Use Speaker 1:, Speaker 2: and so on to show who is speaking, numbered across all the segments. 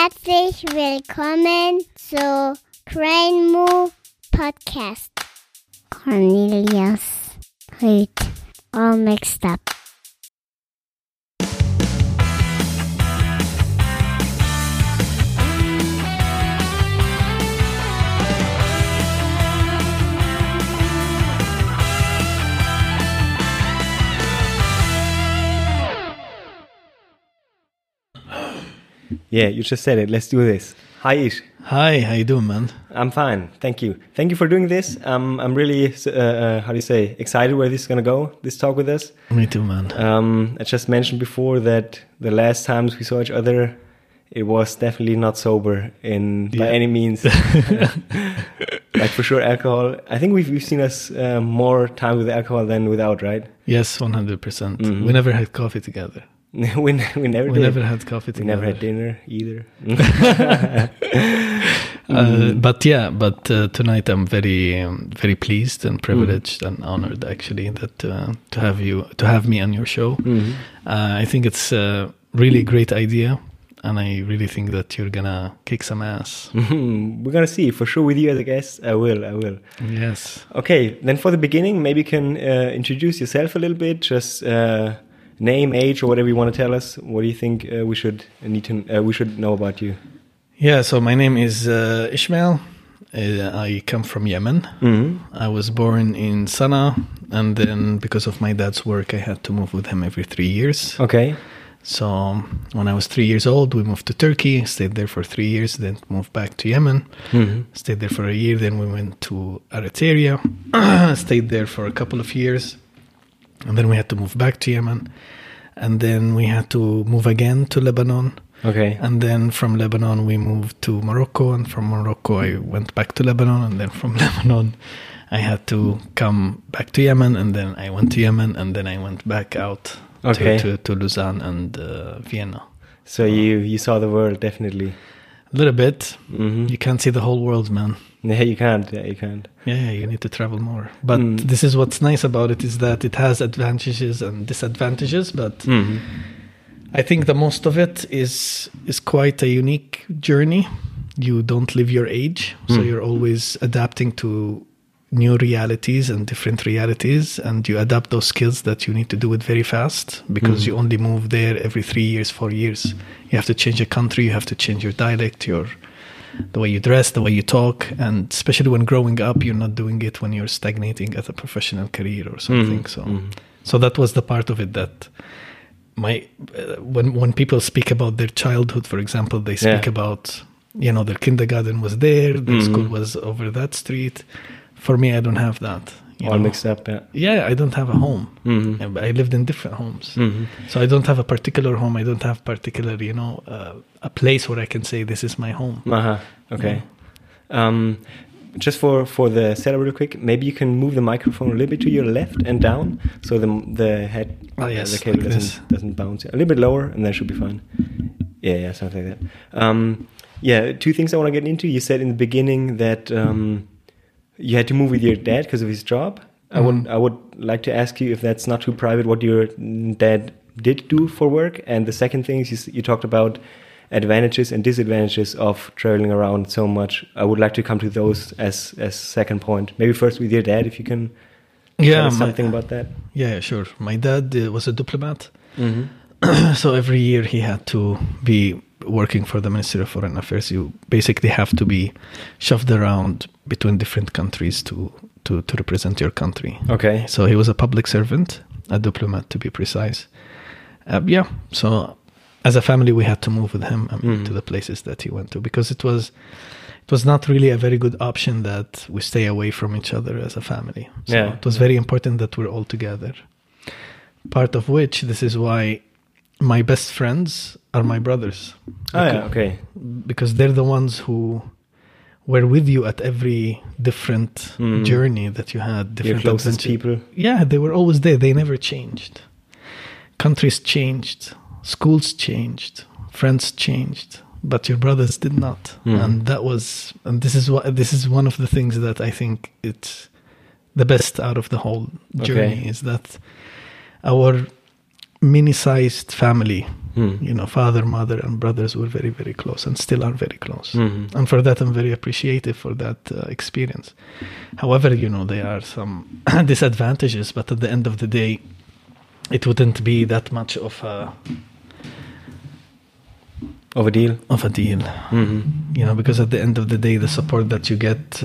Speaker 1: Herzlich willkommen zu Cranemo Podcast. Cornelius Rüth, all mixed up.
Speaker 2: Yeah, you just said it. Let's do this. Hi, Ish.
Speaker 3: Hi, how you doing, man?
Speaker 2: I'm fine. Thank you. Thank you for doing this. I'm really, excited where this is going to go, this talk with us.
Speaker 3: Me too, man.
Speaker 2: I just mentioned before that the last times we saw each other, it was definitely not sober by any means. Like for sure alcohol. I think we've seen us more time with alcohol than without, right?
Speaker 3: Yes, 100%. Mm-hmm. We never had coffee together.
Speaker 2: we never
Speaker 3: had coffee together.
Speaker 2: We never had dinner either.
Speaker 3: But tonight I'm very very pleased and privileged and honored actually that to have me on your show.
Speaker 2: Mm-hmm.
Speaker 3: I think it's a really great idea, and I really think that you're gonna kick some ass.
Speaker 2: We're gonna see for sure with you as a guest. I will.
Speaker 3: Yes.
Speaker 2: Okay, then for the beginning, maybe you can introduce yourself a little bit. Just name, age, or whatever you want to tell us. What do you think we should know about you?
Speaker 3: Yeah, so my name is Ishmael. I come from Yemen.
Speaker 2: Mm-hmm.
Speaker 3: I was born in Sana'a, and then because of my dad's work, I had to move with him every 3 years.
Speaker 2: Okay.
Speaker 3: So when I was 3 years old, we moved to Turkey, stayed there for 3 years, then moved back to Yemen, stayed there for a year, then we went to Eritrea, stayed there for a couple of years, and then we had to move back to Yemen, and then we had to move again to Lebanon.
Speaker 2: Okay.
Speaker 3: And then from Lebanon, we moved to Morocco, and from Morocco, I went back to Lebanon, and then from Lebanon, I had to come back to Yemen, and then I went to Yemen, and then I went back out to Lausanne and Vienna.
Speaker 2: So you saw the world, definitely.
Speaker 3: A little bit.
Speaker 2: Mm-hmm.
Speaker 3: You can't see the whole world, man.
Speaker 2: Yeah, you can't.
Speaker 3: Yeah, you need to travel more. But this is what's nice about it, is that it has advantages and disadvantages, but I think the most of it is quite a unique journey. You don't live your age, so you're always adapting to new realities and different realities, and you adapt those skills that you need to do it very fast, because you only move there every 3 years, 4 years. You have to change a country, you have to change your dialect, the way you dress, the way you talk, and especially when growing up, you're not doing it when you're stagnating at a professional career or something. So that was the part of it that when people speak about their childhood, for example, they speak about, their kindergarten was there, their school was over that street. For me, I don't have that.
Speaker 2: All mixed up, yeah.
Speaker 3: Yeah, I don't have a home. Mm-hmm. I lived in different homes. Mm-hmm. So I don't have a particular home. I don't have particular, a place where I can say this is my home.
Speaker 2: Okay. Yeah. Just for the setup real quick, maybe you can move the microphone a little bit to your left and down, so the head, the cable doesn't bounce. A little bit lower, and that should be fine. Yeah, something like that. 2 things I want to get into. You said in the beginning that you had to move with your dad because of his job. I would like to ask you, if that's not too private, what your dad did do for work. And the second thing is you talked about advantages and disadvantages of traveling around so much. I would like to come to those as second point. Maybe first with your dad, if you can tell us something about that.
Speaker 3: Yeah, sure. My dad was a diplomat. Mm-hmm. So every year he had to be working for the Ministry of Foreign Affairs. You basically have to be shoved around between different countries to represent your country.
Speaker 2: Okay.
Speaker 3: So he was a public servant, a diplomat to be precise. So as a family, we had to move with him to the places that he went to, because it was not really a very good option that we stay away from each other as a family. So it was very important that we're all together. Part of which, this is why my best friends are my brothers.
Speaker 2: Okay.
Speaker 3: Because they're the ones who were with you at every different journey that you had. Different
Speaker 2: your closest people.
Speaker 3: Yeah, they were always there. They never changed. Countries changed. Schools changed. Friends changed. But your brothers did not. And this is one of the things that I think it's the best out of the whole journey, is that our mini-sized family Father, mother, and brothers were very, very close and still are very close. And for that, I'm very appreciative for that experience. However, there are some disadvantages, but at the end of the day, it wouldn't be that much of a
Speaker 2: deal.
Speaker 3: Because at the end of the day, the support that you get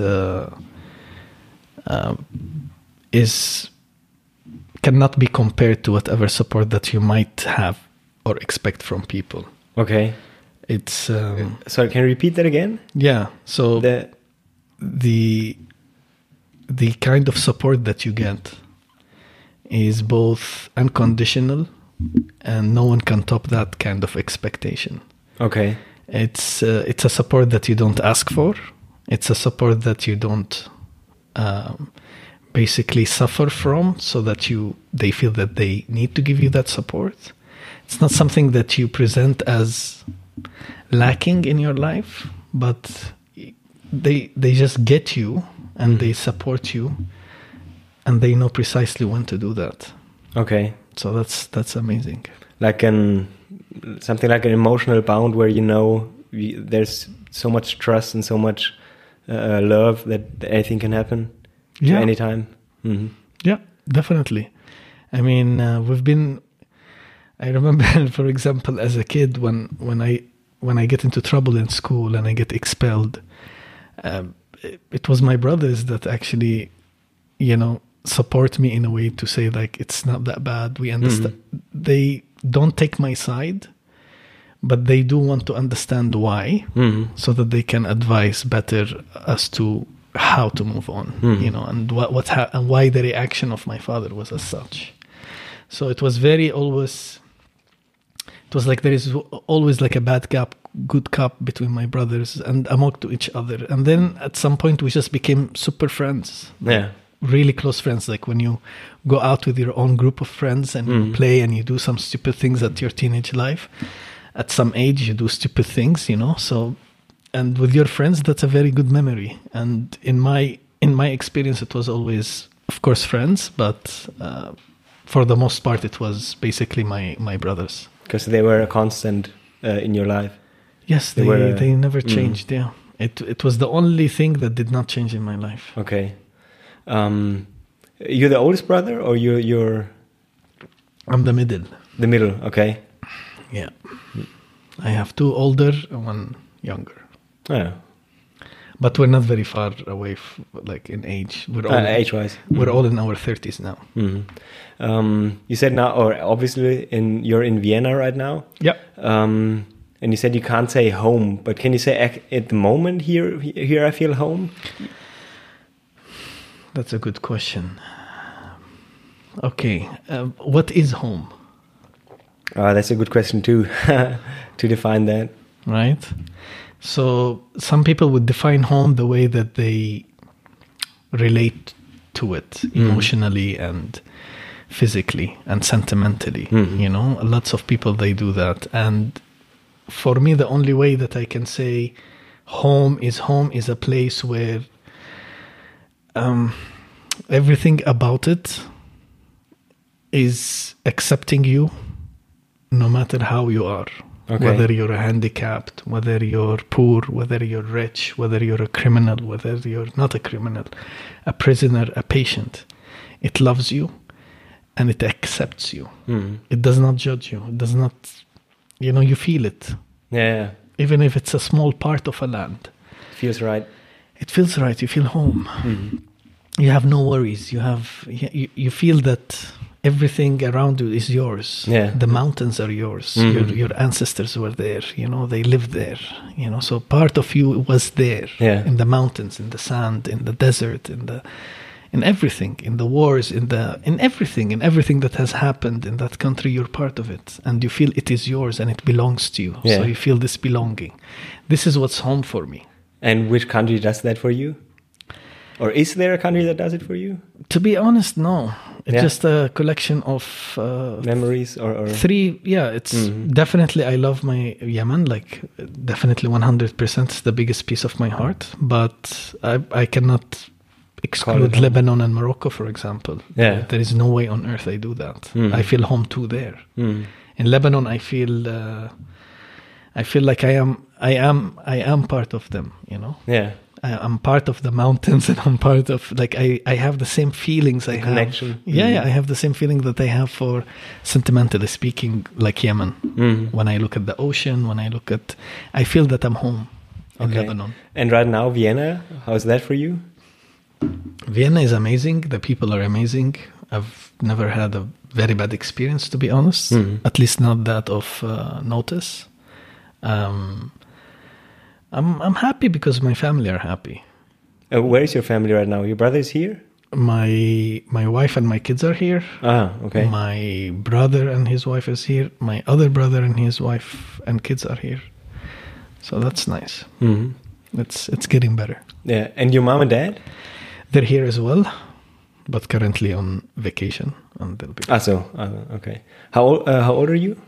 Speaker 3: cannot be compared to whatever support that you might have or expect from people.
Speaker 2: Okay.
Speaker 3: It's
Speaker 2: sorry, can you repeat that again?
Speaker 3: Yeah. So the kind of support that you get is both unconditional, and no one can top that kind of expectation.
Speaker 2: Okay.
Speaker 3: It's a support that you don't ask for. It's a support that you don't basically suffer from, so that they feel that they need to give you that support. It's not something that you present as lacking in your life, but they just get you and they support you, and they know precisely when to do that.
Speaker 2: Okay.
Speaker 3: So that's amazing.
Speaker 2: Like something like an emotional bond where there's so much trust and so much love that anything can happen at any time. Mm-hmm.
Speaker 3: Yeah, definitely. I mean, I remember, for example, as a kid, when I get into trouble in school and I get expelled, it was my brothers that actually, support me in a way to say, like, it's not that bad. We understand. They don't take my side, but they do want to understand why, so that they can advise better as to how to move on, and and why the reaction of my father was as such. So it was it was like there is always like a bad cop, good cop between my brothers and among to each other. And then at some point we just became super friends.
Speaker 2: Yeah.
Speaker 3: Really close friends. Like when you go out with your own group of friends and you play and you do some stupid things at your teenage life. At some age you do stupid things, So, and with your friends, that's a very good memory. And in my experience, it was always, of course, friends, but for the most part, it was basically my brothers.
Speaker 2: Because they were a constant in your life.
Speaker 3: Yes, they never changed. Yeah, it was the only thing that did not change in my life.
Speaker 2: Okay, you're the oldest brother, or you're?
Speaker 3: I'm the middle.
Speaker 2: The middle. Okay.
Speaker 3: Yeah, I have two older and one younger.
Speaker 2: Yeah.
Speaker 3: But we're not very far away, like in age. We're all
Speaker 2: age-wise.
Speaker 3: We're all in our 30s now.
Speaker 2: Mm-hmm. You said now, or obviously, you're in Vienna right now.
Speaker 3: Yeah.
Speaker 2: And you said you can't say home, but can you say at the moment here I feel home?
Speaker 3: That's a good question. Okay, what is home?
Speaker 2: That's a good question too, to define that.
Speaker 3: Right. So some people would define home the way that they relate to it emotionally and physically and sentimentally. Lots of people, they do that. And for me, the only way that I can say home is a place where everything about it is accepting you no matter how you are. Okay. Whether you're handicapped, whether you're poor, whether you're rich, whether you're a criminal, whether you're not a criminal, a prisoner, a patient. It loves you and it accepts you. It does not judge you. It does not, you feel it.
Speaker 2: Yeah.
Speaker 3: Even if it's a small part of a land.
Speaker 2: It feels right.
Speaker 3: It feels right. You feel home. You have no worries. You feel that everything around you is yours.
Speaker 2: Yeah.
Speaker 3: The mountains are yours. Your ancestors were there. They lived there. So part of you was there.
Speaker 2: Yeah.
Speaker 3: In the mountains, in the sand, in the desert, in everything, in the wars, in everything that has happened in that country. You're part of it, and you feel it is yours and it belongs to you.
Speaker 2: Yeah.
Speaker 3: So you feel this belonging. This is what's home for me.
Speaker 2: And which country does that for you? Or is there a country that does it for you?
Speaker 3: To be honest, no. It's just a collection of
Speaker 2: memories or
Speaker 3: three. Yeah, it's definitely, I love my Yemen, like definitely 100%. It's the biggest piece of my heart. But I cannot exclude Lebanon and Morocco, for example.
Speaker 2: Yeah.
Speaker 3: There is no way on earth I do that. I feel home too there. in Lebanon, I feel like I am part of them, you know.
Speaker 2: Yeah.
Speaker 3: I'm part of the mountains, and I'm part of, like, I have the same feelings I have.
Speaker 2: Connection.
Speaker 3: Yeah, I have the same feeling that I have for, sentimentally speaking, like Yemen. When I look at the ocean, I feel that I'm home in Lebanon.
Speaker 2: And right now, Vienna, how's that for you?
Speaker 3: Vienna is amazing. The people are amazing. I've never had a very bad experience, to be honest. At least not that of notice. I'm happy because my family are happy.
Speaker 2: Where is your family right now? Your brother is here?
Speaker 3: My wife and my kids are here.
Speaker 2: Ah, okay.
Speaker 3: My brother and his wife is here. My other brother and his wife and kids are here. So that's nice. It's getting better.
Speaker 2: Yeah. And your mom and dad?
Speaker 3: They're here as well, but currently on vacation, and they'll be.
Speaker 2: Okay. How old are you?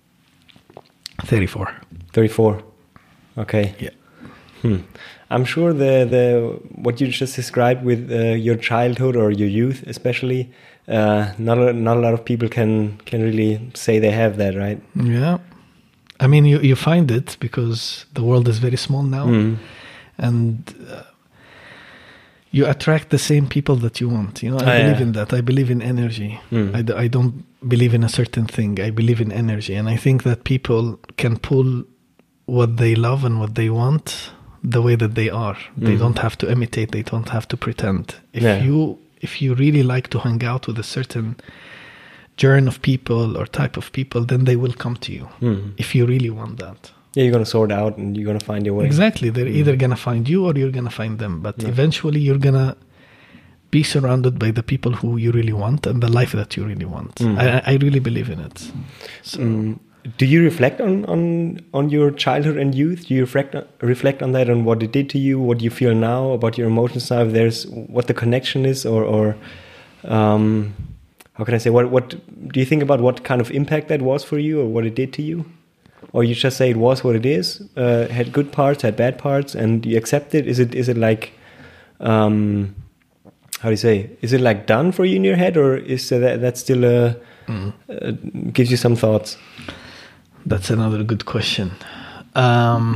Speaker 3: 34.
Speaker 2: 34. Okay.
Speaker 3: Yeah.
Speaker 2: I'm sure the what you just described with your childhood or your youth, especially, not a lot of people can really say they have that, right?
Speaker 3: Yeah. I mean, you find it because the world is very small now, and you attract the same people that you want. You know, I believe in that. I believe in energy. I don't believe in a certain thing. I believe in energy, and I think that people can pull what they love and what they want the way that they are. They don't have to imitate. They don't have to pretend. If you really like to hang out with a certain genre of people or type of people, then they will come to you. If you really want that.
Speaker 2: Yeah, you're going to sort out and you're going to find your way.
Speaker 3: Exactly. They're either going to find you or you're going to find them. But eventually you're going to be surrounded by the people who you really want and the life that you really want. I really believe in it. So.
Speaker 2: Do you reflect on your childhood and youth? Do you reflect on that, on what it did to you, what you feel now about your emotions now? If there's what the connection is, or how can I say? What do you think about what kind of impact that was for you, or what it did to you? Or you just say it was what it is, had good parts, had bad parts, and you accept it? Is it like, how do you say? Is it like done for you in your head, or is that still gives you some thoughts?
Speaker 3: That's another good question. Well,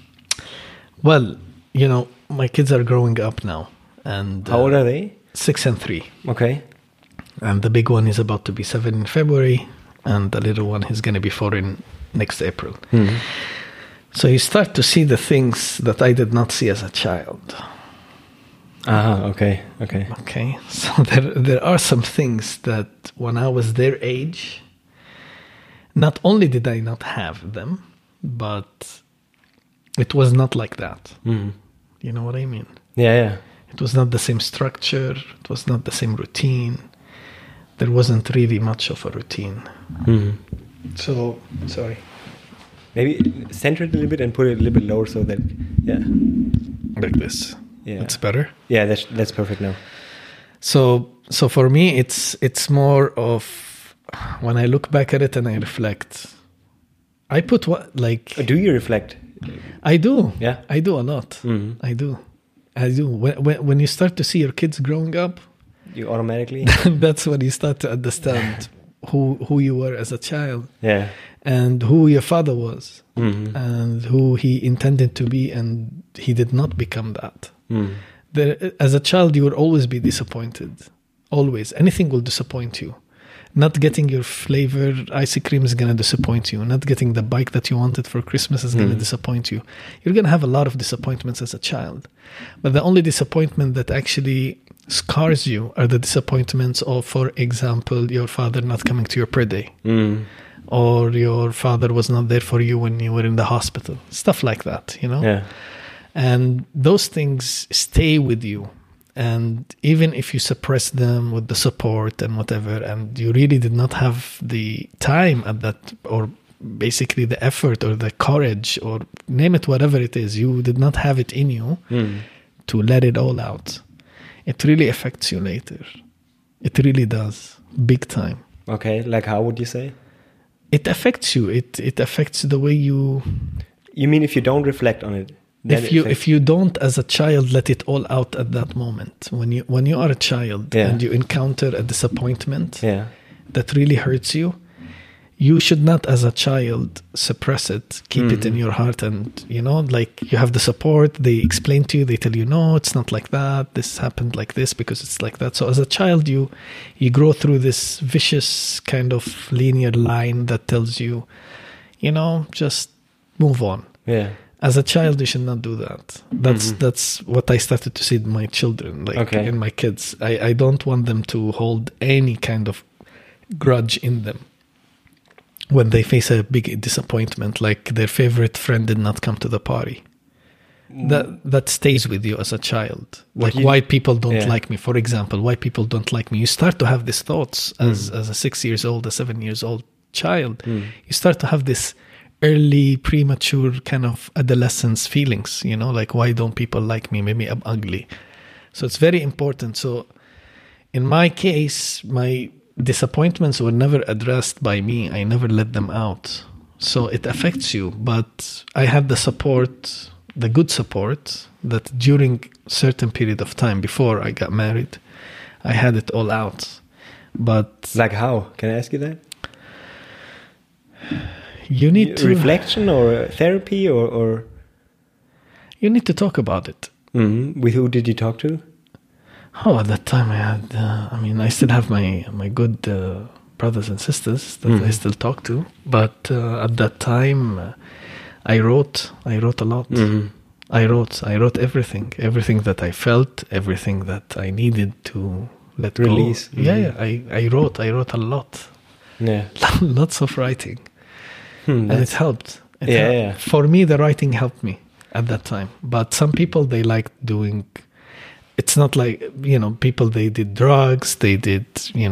Speaker 3: you know, my kids are growing up now, and
Speaker 2: how old are they?
Speaker 3: 6 and 3.
Speaker 2: Okay.
Speaker 3: And the big one is about to be 7 in February, and the little one is going to be 4 in next April. So you start to see the things that I did not see as a child.
Speaker 2: Okay.
Speaker 3: So there are some things that when I was their age, not only did I not have them, but it was not like that. You know what I mean?
Speaker 2: Yeah.
Speaker 3: It was not the same structure. It was not the same routine. There wasn't really much of a routine. So, sorry.
Speaker 2: Maybe center it a little bit and put it a little bit lower so that,
Speaker 3: like this.
Speaker 2: Yeah.
Speaker 3: That's better?
Speaker 2: Yeah, that's perfect now.
Speaker 3: So for me, it's more of, when I look back at it and I reflect, I put what, like...
Speaker 2: Do you reflect?
Speaker 3: I do.
Speaker 2: Yeah.
Speaker 3: I do a lot. I do. When you start to see your kids growing up...
Speaker 2: You automatically...
Speaker 3: That's when you start to understand who you were as a child.
Speaker 2: Yeah.
Speaker 3: And who your father was. And who he intended to be, and he did not become that. As a child, you will always be disappointed. Always. Anything will disappoint you. Not getting your flavored ice cream is going to disappoint you. Not getting the bike that you wanted for Christmas is going to disappoint you. You're going to have a lot of disappointments as a child. But the only disappointment that actually scars you are the disappointments of, for example, your father not coming to your prayer day. Or your father was not there for you when you were in the hospital. Stuff like that, you know?
Speaker 2: Yeah.
Speaker 3: And those things stay with you. And even if you suppress them with the support and whatever, and you really did not have the time at that, or basically the effort or the courage, or name it whatever it is, you did not have it in you to let it all out. It really affects you later. It really does. Big time.
Speaker 2: Okay, like how would you say?
Speaker 3: It affects you. It affects the way you...
Speaker 2: You mean if you don't reflect on it?
Speaker 3: If you don't, as a child, let it all out at that moment, when you are a child and you encounter a disappointment that really hurts you, you should not, as a child, suppress it, keep it in your heart. And, you have the support. They explain to you, they tell you, no, it's not like that. This happened like this because it's like that. So as a child, you grow through this vicious kind of linear line that tells you, just move on.
Speaker 2: Yeah.
Speaker 3: As a child, you should not do that. That's what I started to see in my children, in my kids. I don't want them to hold any kind of grudge in them when they face a big disappointment, like their favorite friend did not come to the party. That stays with you as a child. Like why people don't like me, for example, why people don't like me. You start to have these thoughts as a 6 years old, a 7 years old child. You start to have this early premature kind of adolescence feelings, like why don't people like me? Maybe I'm ugly. So it's very important. So in my case, my disappointments were never addressed by me. I never let them out. So it affects you. But I had the support, the good support, that during certain period of time before I got married, I had it all out. But
Speaker 2: like how? Can I ask you that?
Speaker 3: You need to
Speaker 2: reflection or therapy or
Speaker 3: you need to talk about it.
Speaker 2: With who did you talk to?
Speaker 3: Oh, at that time I had, I still have my good brothers and sisters that I still talk to. But at that time, I wrote a lot. I wrote everything that I felt, everything that I needed to let
Speaker 2: release.
Speaker 3: Go. Yeah, I wrote a lot.
Speaker 2: Yeah,
Speaker 3: lots of writing, and it helped.
Speaker 2: Yeah.
Speaker 3: For me, the writing helped me at that time. But some people, they like doing. It's not like, people, they did drugs, they did,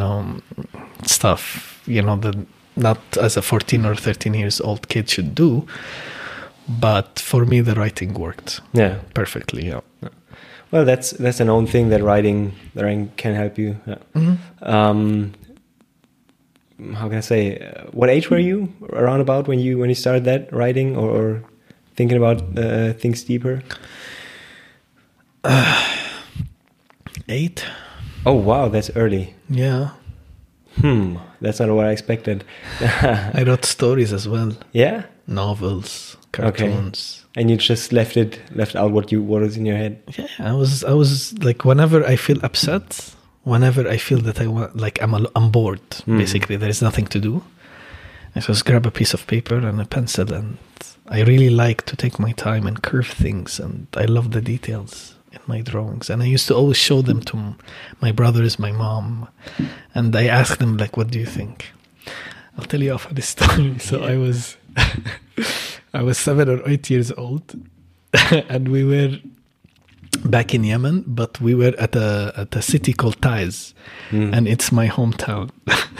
Speaker 3: stuff, that not as a 14 or 13 years old kid should do. But for me, the writing worked.
Speaker 2: Yeah.
Speaker 3: Perfectly, yeah.
Speaker 2: Well, that's a known thing that writing can help you. Yeah. How can I say, what age were you around about when you started that writing or thinking about things deeper?
Speaker 3: 8.
Speaker 2: Oh wow, that's early.
Speaker 3: Yeah.
Speaker 2: That's not what I expected.
Speaker 3: I wrote stories as well.
Speaker 2: Yeah.
Speaker 3: Novels, cartoons.
Speaker 2: Okay. And you just left out what was in your head.
Speaker 3: Yeah, I was like, whenever I feel upset, whenever I feel that I want, like I'm bored. Basically, there is nothing to do. I just grab a piece of paper and a pencil, and I really like to take my time and curve things, and I love the details in my drawings. And I used to always show them to my brothers, my mom, and I asked them, like, what do you think? I'll tell you a funny story. So I was 7 or 8 years old, and we were back in Yemen, but we were at a city called Taiz, and it's my hometown.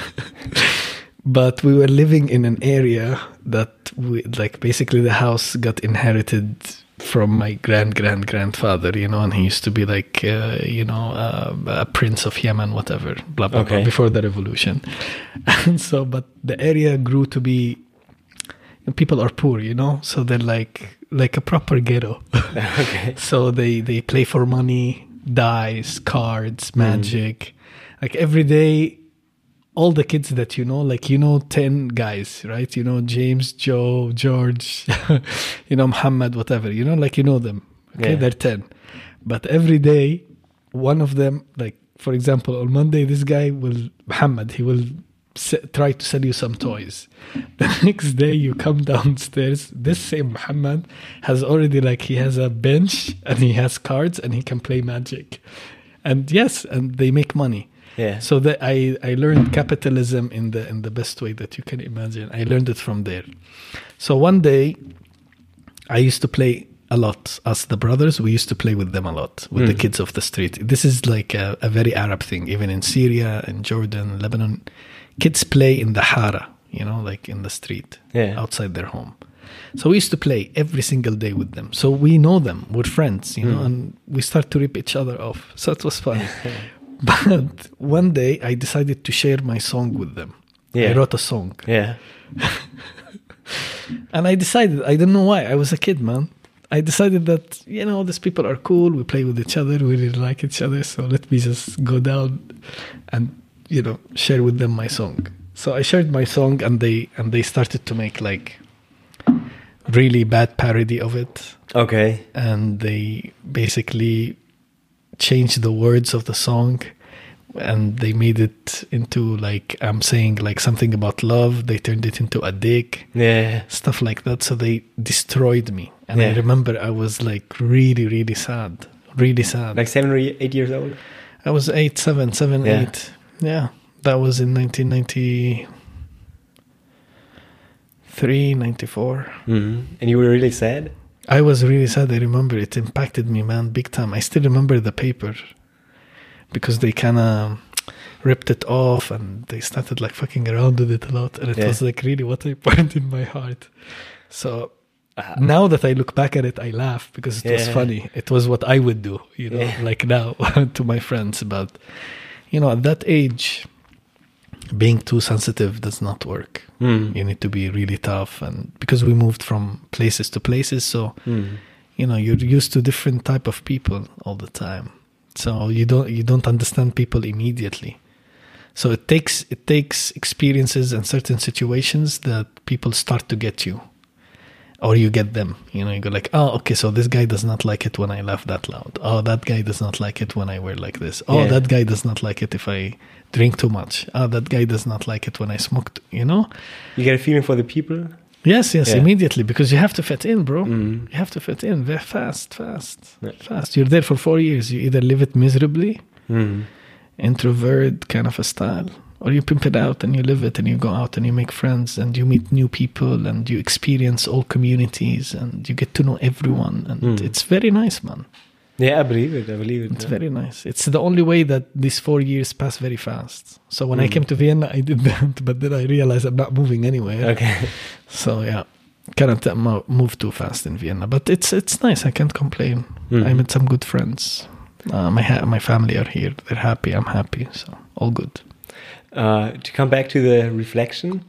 Speaker 3: But we were living in an area that basically the house got inherited from my grandfather, and he used to be like, a prince of Yemen, whatever, blah, blah, blah, before the revolution. And so, but the area grew to be, people are poor, so they're like a proper ghetto.
Speaker 2: Okay.
Speaker 3: So they play for money, dice, cards, magic. Like every day, all the kids that 10 guys, right? James, Joe, George, Muhammad, whatever, them. Okay, they're 10. But every day, one of them, like, for example, on Monday, this guy Muhammad, he will try to sell you some toys. The next day, you come downstairs, this same Muhammad has already, he has a bench, and he has cards, and he can play magic. And yes, and they make money.
Speaker 2: Yeah.
Speaker 3: So that I learned capitalism in the best way that you can imagine. I learned it from there. So one day, I used to play a lot. Us, the brothers, we used to play with them a lot, with the kids of the street. This is like a very Arab thing. Even in Syria and Jordan, Lebanon, kids play in the hara, like in the street, outside their home. So we used to play every single day with them. So we know them. We're friends, and we start to rip each other off. So it was fun. But one day I decided to share my song with them. I wrote a song.
Speaker 2: Yeah.
Speaker 3: And I decided, I don't know why, I was a kid, man. I decided that, these people are cool. We play with each other. We really like each other. So let me just go down and, share with them my song. So I shared my song, and they started to make like really bad parody of it.
Speaker 2: Okay.
Speaker 3: And they basically changed the words of the song, and they made it into like I'm saying like something about love. They turned it into a dick.
Speaker 2: Yeah.
Speaker 3: Stuff like that. So they destroyed me. And I remember I was like really, really sad. Really sad.
Speaker 2: Like 7 or 8 years old?
Speaker 3: I was 8. Yeah. That was in 1993, 94.
Speaker 2: Mm-hmm. And you were really sad?
Speaker 3: I was really sad. I remember it impacted me, man, big time. I still remember the paper because they kind of ripped it off and they started like fucking around with it a lot. And it was like really what I burned in my heart. So now that I look back at it, I laugh because it was funny. It was what I would do, you know, like now to my friends. But, you know, at that age, being too sensitive does not work. You need to be really tough, and because we moved from places to places, so you know you're used to different type of people all the time. So you don't understand people immediately. So it takes experiences and certain situations that people start to get you, or you get them. You know, you go like, oh, okay, so this guy does not like it when I laugh that loud. Oh, that guy does not like it when I wear like this. Oh, that guy does not like it if I drink too much. Oh, that guy does not like it when I smoke. You know,
Speaker 2: you get a feeling for the people.
Speaker 3: Yes, immediately, because you have to fit in, bro. You have to fit in very fast. You're there for 4 years. You either live it miserably, introvert kind of a style, or you pimp it out and you live it and you go out and you make friends and you meet new people and you experience all communities and you get to know everyone. And it's very nice, man.
Speaker 2: Yeah, I believe it.
Speaker 3: It's very nice. It's the only way that these 4 years pass very fast. So when I came to Vienna, I did that, but then I realized I'm not moving anywhere.
Speaker 2: Okay.
Speaker 3: So yeah, cannot move too fast in Vienna, but it's nice. I can't complain. I met some good friends. My family are here. They're happy. I'm happy. So all good.
Speaker 2: To come back to the reflection,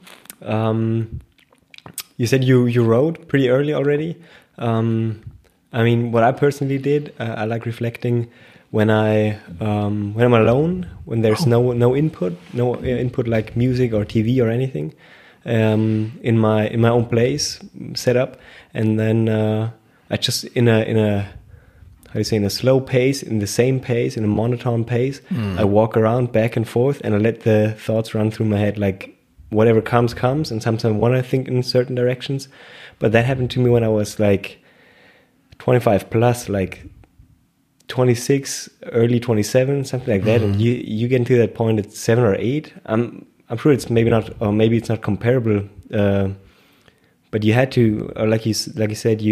Speaker 2: you said you wrote pretty early already. I mean, what I personally did, I like reflecting when I'm alone, when there's no input like music or TV or anything, in my own place set up, and then I just in a slow pace, in the same pace, in a monotone pace, I walk around back and forth, and I let the thoughts run through my head, like whatever comes, and sometimes I want to think in certain directions, but that happened to me when I was like 25 plus, like 26, early 27, something like that. And you get into that point at 7 or 8. I'm sure it's maybe not, or maybe it's not comparable. But you had to, or like you said,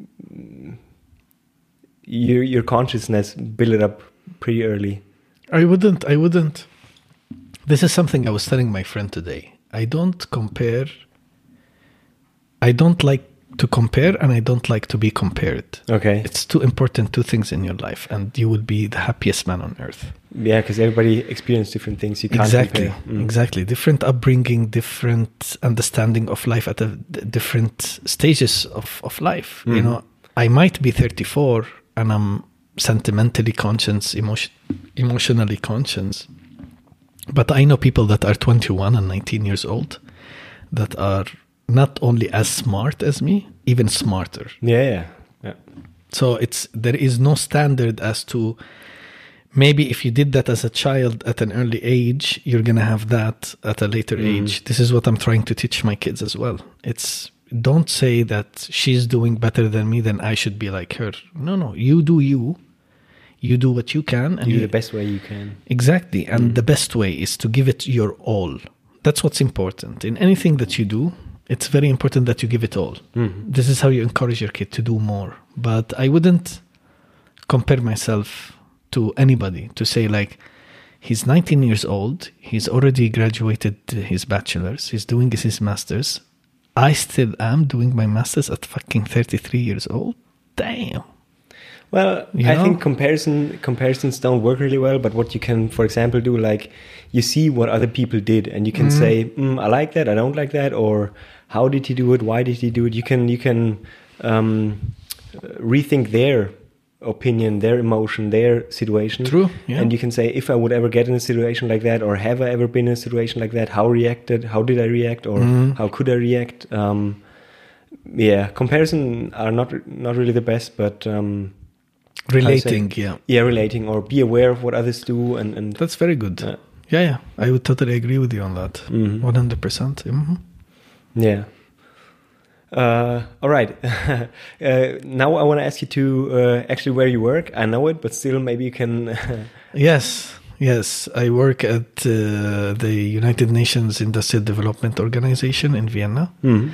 Speaker 2: your consciousness build it up pretty early.
Speaker 3: I wouldn't. This is something I was telling my friend today. I don't compare. I don't like to compare, and I don't like to be compared.
Speaker 2: Okay.
Speaker 3: It's two important things in your life, and you will be the happiest man on earth.
Speaker 2: Yeah, because everybody experiences different things. You can't compare.
Speaker 3: Exactly. Different upbringing, different understanding of life at different stages of life. You know, I might be 34 and I'm sentimentally conscious, emotionally conscious. But I know people that are 21 and 19 years old that are not only as smart as me, even smarter.
Speaker 2: Yeah.
Speaker 3: So there is no standard as to, maybe if you did that as a child at an early age, you're going to have that at a later age. This is what I'm trying to teach my kids as well. Don't say that she's doing better than me, then I should be like her. No, you do you. You do what you can. And
Speaker 2: you do the best way you can.
Speaker 3: Exactly. And the best way is to give it your all. That's what's important. In anything that you do, it's very important that you give it all. This is how you encourage your kid to do more. But I wouldn't compare myself to anybody to say like, he's 19 years old, he's already graduated his bachelor's, he's doing his master's. I still am doing my master's at fucking 33 years old. Damn.
Speaker 2: Well, I think comparisons don't work really well, but what you can, for example, do, like, you see what other people did, and you can say, I like that, I don't like that, or how did he do it, why did he do it? You can rethink their opinion, their emotion, their situation.
Speaker 3: True. Yeah.
Speaker 2: And you can say, if I would ever get in a situation like that, or have I ever been in a situation like that, how did I react, or how could I react? Comparison are not really the best, but
Speaker 3: relating,
Speaker 2: relating, or be aware of what others do, and
Speaker 3: that's very good. Yeah, I would totally agree with you on that. 100%.
Speaker 2: Yeah. All right. Now I want to ask you to actually where you work. I know it, but still, maybe you can.
Speaker 3: Yes. I work at the United Nations Industrial Development Organization in Vienna.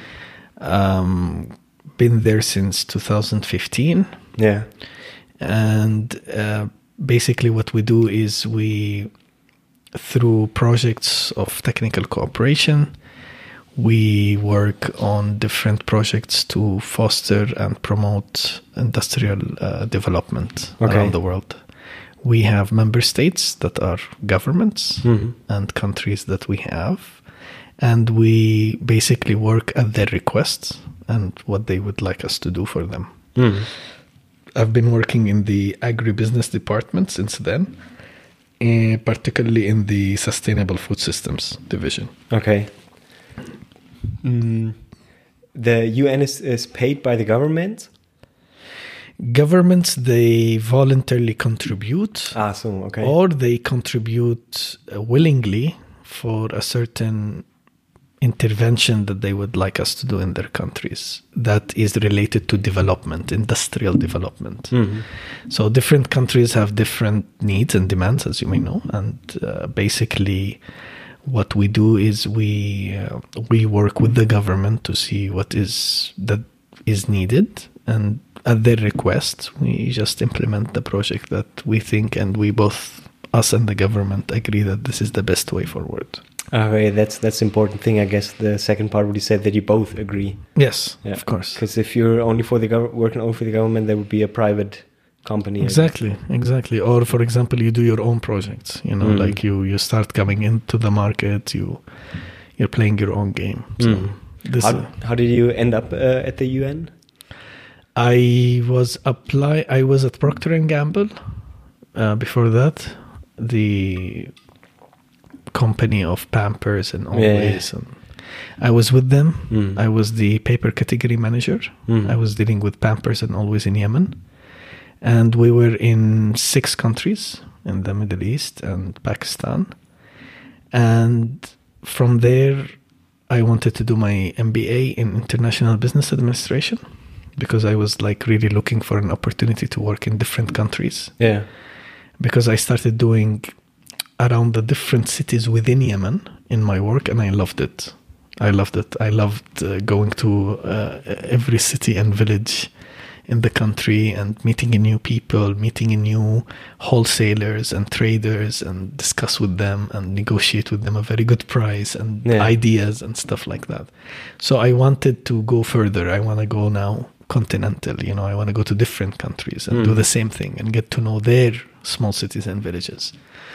Speaker 3: Been there since 2015.
Speaker 2: Yeah.
Speaker 3: And basically what we do is through projects of technical cooperation, we work on different projects to foster and promote industrial development around the world. We have member states that are governments and countries that we have, and we basically work at their requests and what they would like us to do for them. I've been working in the agribusiness department since then, particularly in the Sustainable Food Systems division.
Speaker 2: Okay. The UN is paid by the government?
Speaker 3: Governments, they voluntarily contribute.
Speaker 2: Okay.
Speaker 3: Or they contribute willingly for a certain intervention that they would like us to do in their countries that is related to development, industrial development. So different countries have different needs and demands, as you may know, and basically what we do is we work with the government to see what is needed, and at their request we just implement the project that we think, and we both, us and the government, agree that this is the best way forward.
Speaker 2: Okay, that's the important thing, I guess. The second part, what you said, that you both agree.
Speaker 3: Yes, of course.
Speaker 2: Because if you're only for the working only for the government, there would be a private company.
Speaker 3: Exactly. Or, for example, you do your own projects. Like you start coming into the market. You're playing your own game. So
Speaker 2: how did you end up at the UN?
Speaker 3: I was at Procter & Gamble. Before that, the company of Pampers and Always. And I was with them. I was the paper category manager. I was dealing with Pampers and Always in Yemen. And we were in 6 countries in the Middle East and Pakistan. And from there, I wanted to do my MBA in International Business Administration, because I was really looking for an opportunity to work in different countries.
Speaker 2: Yeah.
Speaker 3: Because I started doing around the different cities within Yemen in my work, and I loved it. I loved going to every city and village in the country and meeting new people, meeting new wholesalers and traders, and discuss with them and negotiate with them a very good price and ideas and stuff like that. So I wanted to go further. I want to go now continental, I want to go to different countries and do the same thing and get to know their small cities and villages.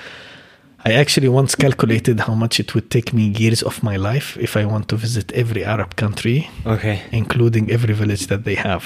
Speaker 3: I actually once calculated how much it would take me years of my life if I want to visit every Arab country, including every village that they have.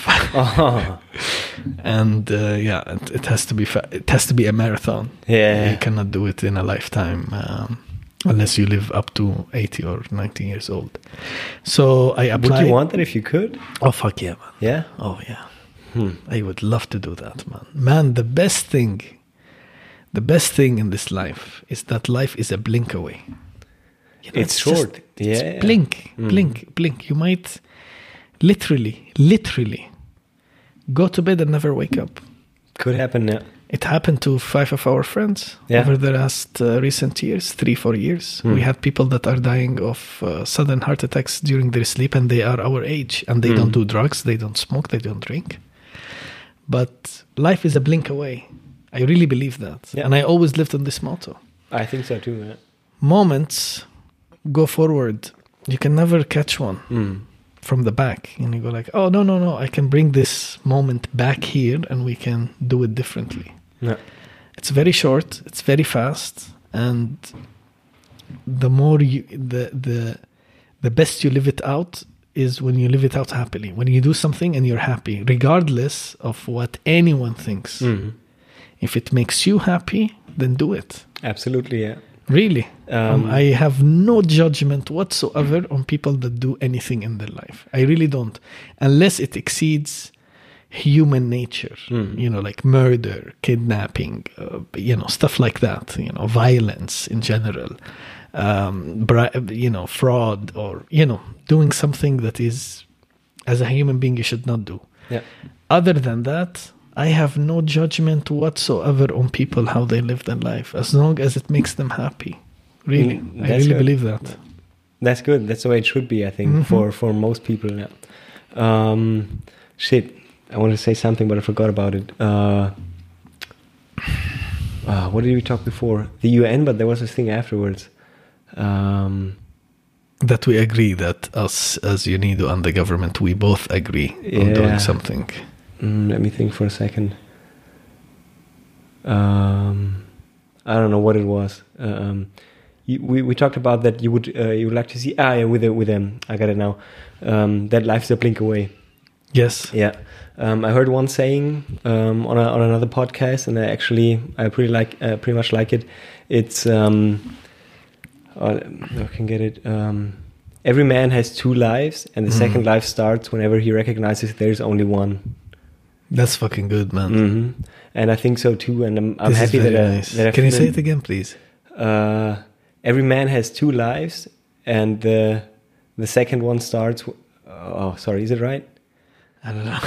Speaker 3: And it has to be a marathon. You cannot do it in a lifetime unless you live up to 80 or 90 years old. So I applied.
Speaker 2: Would you want that if you could?
Speaker 3: Oh, fuck yeah, man.
Speaker 2: Yeah?
Speaker 3: Oh, yeah. I would love to do that, man. Man, the best thing in this life is that life is a blink away.
Speaker 2: It's short.
Speaker 3: Blink. You might literally go to bed and never wake up.
Speaker 2: Could happen, yeah.
Speaker 3: It happened to 5 of our friends over the last recent years, 3-4 years. We had people that are dying of sudden heart attacks during their sleep, and they are our age, and they don't do drugs, they don't smoke, they don't drink. But life is a blink away. I really believe that. Yeah. And I always lived on this motto.
Speaker 2: I think so too, yeah.
Speaker 3: Moments go forward. You can never catch one from the back. And you go like, oh, no, I can bring this moment back here and we can do it differently.
Speaker 2: Yeah.
Speaker 3: It's very short. It's very fast. And the more the best you live it out, is when you live it out happily. When you do something and you're happy, regardless of what anyone thinks.
Speaker 2: Mm-hmm.
Speaker 3: If it makes you happy, then do it.
Speaker 2: Absolutely, yeah.
Speaker 3: Really. I have no judgment whatsoever on people that do anything in their life. I really don't. Unless it exceeds human nature, like murder, kidnapping, stuff like that, violence in general, fraud, or, doing something that is, as a human being, you should not do.
Speaker 2: Yeah.
Speaker 3: Other than that, I have no judgment whatsoever on people, how they live their life, as long as it makes them happy. Really. I really
Speaker 2: good.
Speaker 3: believe that.
Speaker 2: That's good. That's the way it should be, I think, for most people. Yeah. Shit. I wanted to say something, but I forgot about it. What did we talk before? The UN, but there was this thing afterwards.
Speaker 3: That we agree that us as UNIDO and the government, we both agree on doing something.
Speaker 2: Let me think for a second. I don't know what it was. We talked about that you would like to see. I got it now. That life's a blink away.
Speaker 3: Yes.
Speaker 2: Yeah. I heard one saying on another podcast, and I pretty much like it. It's I can get it. Every man has two lives, and the second life starts whenever he recognizes there's only one.
Speaker 3: That's fucking good, man.
Speaker 2: Mm-hmm. And I think so too. And I'm happy that I
Speaker 3: can you say it again, please?
Speaker 2: Every man has two lives, and the second one starts. Is it right?
Speaker 3: I don't know.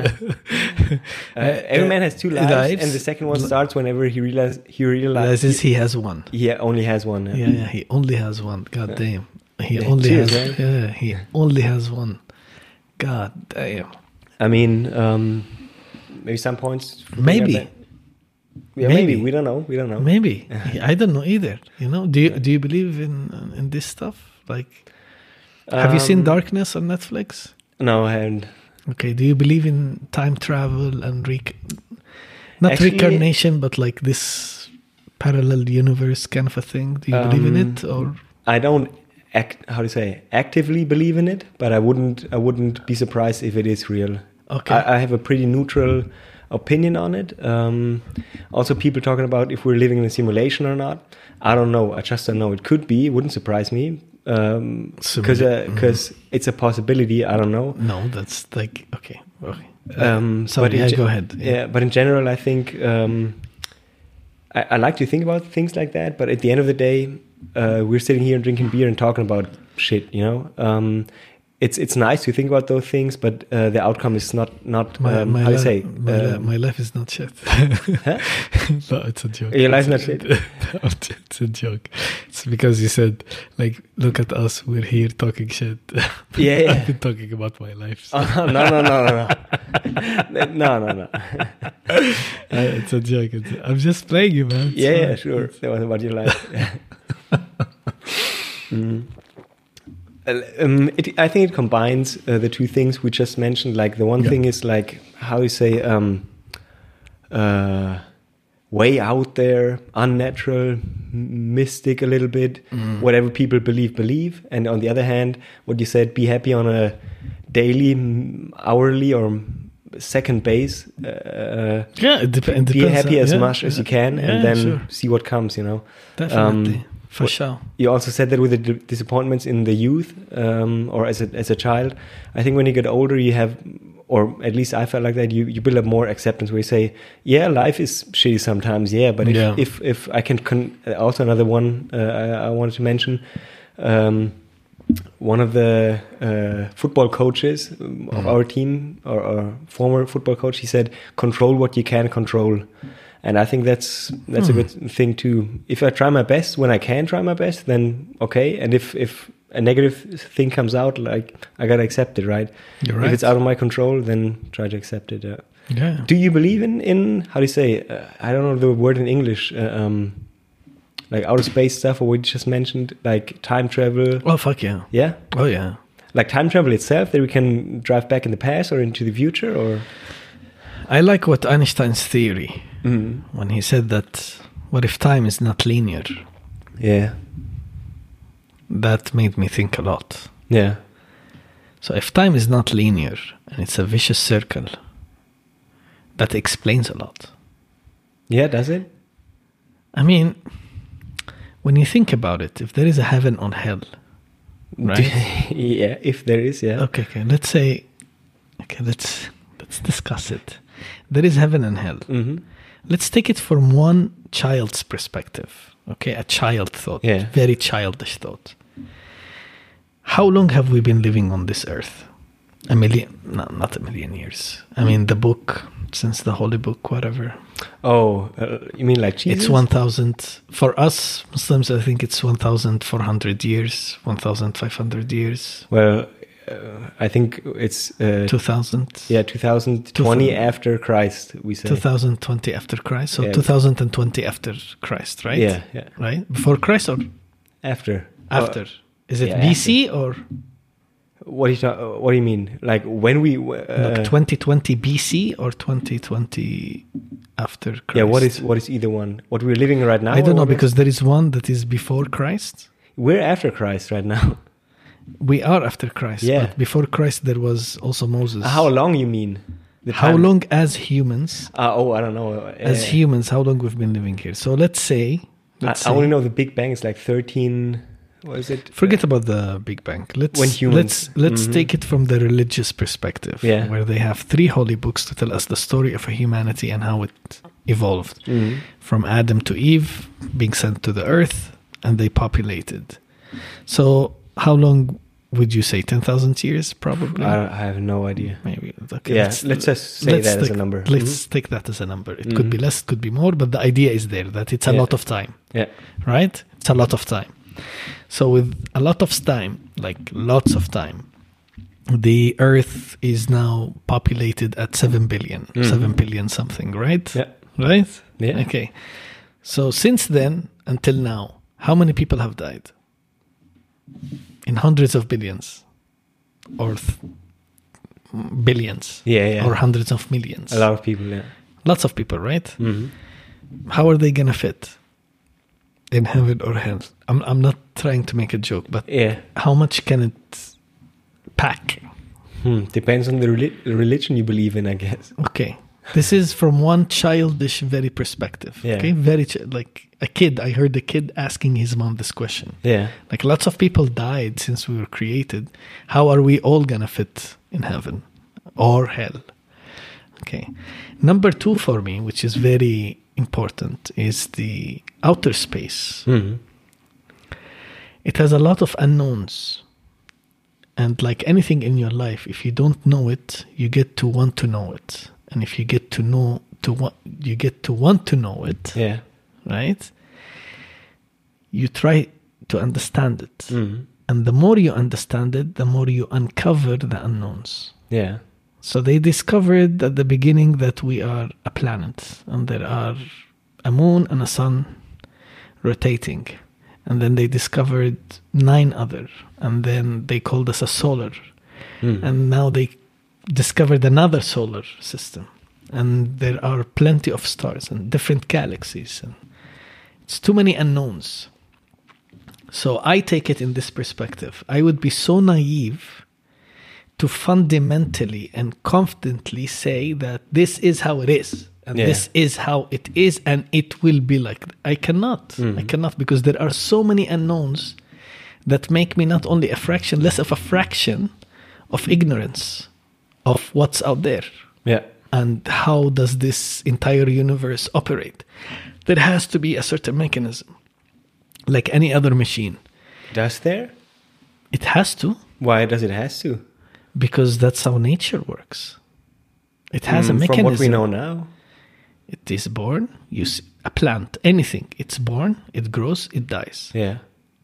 Speaker 2: Every man has two lives, and the second one starts whenever he realizes
Speaker 3: he has one.
Speaker 2: He only has one.
Speaker 3: Yeah, he only has one. God damn. He only has one. God damn.
Speaker 2: I mean, maybe some points.
Speaker 3: Maybe.
Speaker 2: Maybe we don't know.
Speaker 3: Maybe I don't know either. Do you believe in this stuff? Like, have you seen Darkness on Netflix?
Speaker 2: No, I haven't.
Speaker 3: Okay, do you believe in time travel and reincarnation, but like this parallel universe kind of a thing? Do you believe in it, or?
Speaker 2: I don't actively believe in it, but I wouldn't be surprised if it is real.
Speaker 3: Okay.
Speaker 2: I have a pretty neutral opinion on it. Also, people talking about if we're living in a simulation or not. I don't know. I just don't know. It could be. It wouldn't surprise me. Because it's a possibility. I don't know.
Speaker 3: No, that's like okay.
Speaker 2: Sorry,
Speaker 3: go ahead.
Speaker 2: Yeah, but in general, I think I like to think about things like that. But at the end of the day, we're sitting here and drinking beer and talking about shit. It's nice to think about those things, but the outcome is not
Speaker 3: my life is not shit.
Speaker 2: Huh?
Speaker 3: No, it's a joke.
Speaker 2: Your life's not shit.
Speaker 3: It's a joke. It's because you said, like, look at us, we're here talking shit.
Speaker 2: Yeah.
Speaker 3: I've been talking about my life. So.
Speaker 2: No. No.
Speaker 3: It's a joke. I'm just playing you, man.
Speaker 2: Yeah, sure. That was about your life. I think it combines the two things we just mentioned. Like the one thing is like, how you say, way out there, unnatural, mystic a little bit, whatever people believe. And on the other hand, what you said, be happy on a daily, hourly or second base.
Speaker 3: It depends.
Speaker 2: Be happy as much as you can, and then see what comes,
Speaker 3: Definitely. For sure.
Speaker 2: You also said that with the disappointments in the youth, or as a child. I think when you get older, you have, or at least I felt like that, you build up more acceptance where you say, yeah, life is shitty sometimes, but if I can also another one I wanted to mention, one of the football coaches of our team, or former football coach, he said, control what you can control. And I think that's a good thing too. If I try my best when I can try my best, then okay. And if a negative thing comes out, like, I gotta accept it, right?
Speaker 3: You're right.
Speaker 2: If it's out of my control, then try to accept it.
Speaker 3: Yeah.
Speaker 2: Do you believe in how do you say? I don't know the word in English. Like outer space stuff, or what you just mentioned, like time travel.
Speaker 3: Oh fuck yeah.
Speaker 2: Yeah.
Speaker 3: Oh yeah.
Speaker 2: Like time travel itself, that we can drive back in the past or into the future, or.
Speaker 3: I like what Einstein's theory. When he said that, what if time is not linear?
Speaker 2: Yeah.
Speaker 3: That made me think a lot.
Speaker 2: Yeah.
Speaker 3: So if time is not linear and it's a vicious circle, that explains a lot.
Speaker 2: Yeah, does it?
Speaker 3: I mean, when you think about it, if there is a heaven or hell, right?
Speaker 2: Yeah, if there is, yeah.
Speaker 3: Okay. Let's say, let's discuss it. There is heaven and hell.
Speaker 2: Mm-hmm.
Speaker 3: Let's take it from one child's perspective. Okay, a child thought, very childish thought. How long have we been living on this earth? A million? No, not a million years. I mean, the book, since the Holy Book, whatever.
Speaker 2: Oh, you mean like Jesus?
Speaker 3: It's 1,000. For us Muslims, I think it's 1,400 years, 1,500 years.
Speaker 2: Well, I think it's
Speaker 3: 2000.
Speaker 2: Yeah, 2020 after Christ, we say.
Speaker 3: 2020 after Christ. So 2020 after Christ, right?
Speaker 2: Yeah.
Speaker 3: Right? Before Christ or
Speaker 2: after?
Speaker 3: After. Is it BC
Speaker 2: after.
Speaker 3: or?
Speaker 2: What do you mean? Like when we?
Speaker 3: 2020 BC or 2020 after Christ?
Speaker 2: Yeah. What is either one? What we're living right now?
Speaker 3: I don't know, because there is one that is before Christ.
Speaker 2: We're after Christ right now.
Speaker 3: We are after Christ.
Speaker 2: Yeah.
Speaker 3: But before Christ, there was also Moses.
Speaker 2: How long you mean?
Speaker 3: How long as humans?
Speaker 2: I don't know.
Speaker 3: As humans, how long we've been living here? So let's say.
Speaker 2: I only know the Big Bang is like 13. What is it?
Speaker 3: Forget about the Big Bang. Let's take it from the religious perspective, where they have 3 holy books to tell us the story of humanity and how it evolved from Adam to Eve, being sent to the earth, and they populated. So how long would you say? 10,000 years, probably.
Speaker 2: I have no idea.
Speaker 3: Maybe. Okay.
Speaker 2: Yeah, let's just say that as a number.
Speaker 3: Let's take that as a number. It could be less, it could be more, but the idea is there that it's a lot of time.
Speaker 2: Yeah.
Speaker 3: Right? It's a lot of time. So with a lot of time, like lots of time, the Earth is now populated at 7 billion, 7 billion something, right?
Speaker 2: Yeah.
Speaker 3: Right?
Speaker 2: Yeah.
Speaker 3: Okay. So since then until now, how many people have died? In hundreds of billions or billions.
Speaker 2: Yeah.
Speaker 3: Or hundreds of millions.
Speaker 2: A lot of people, yeah.
Speaker 3: Lots of people, right?
Speaker 2: Mm-hmm.
Speaker 3: How are they going to fit in heaven or hell? I'm not trying to make a joke, but how much can it pack?
Speaker 2: Depends on the religion you believe in, I guess.
Speaker 3: Okay. This is from one childish, very perspective.
Speaker 2: Yeah.
Speaker 3: Okay, very like a kid. I heard a kid asking his mom this question.
Speaker 2: Yeah,
Speaker 3: like lots of people died since we were created. How are we all gonna fit in heaven or hell? Okay. Number 2 for me, which is very important, is the outer space.
Speaker 2: Mm-hmm.
Speaker 3: It has a lot of unknowns. And like anything in your life, if you don't know it, you get to want to know it. And if you get to know you get to want to know it, right? You try to understand it. Mm-hmm. And the more you understand it, the more you uncover the unknowns.
Speaker 2: Yeah.
Speaker 3: So they discovered at the beginning that we are a planet, and there are a moon and a sun rotating. And then they discovered 9 other, and then they called us a solar. And now they discovered another solar system, and there are plenty of stars and different galaxies, and it's too many unknowns. So I take it in this perspective. I would be so naive to fundamentally and confidently say that this is how it is, and this is how it is, and it will be like that. I cannot, because there are so many unknowns that make me not only less of a fraction of ignorance of what's out there. Yeah. And how does this entire universe operate? There has to be a certain mechanism, like any other machine.
Speaker 2: Does there?
Speaker 3: It has to.
Speaker 2: Why does it has to?
Speaker 3: Because that's how nature works. It has a mechanism.
Speaker 2: From what we know now.
Speaker 3: It is born. You see a plant, anything. It's born, it grows, it dies.
Speaker 2: Yeah.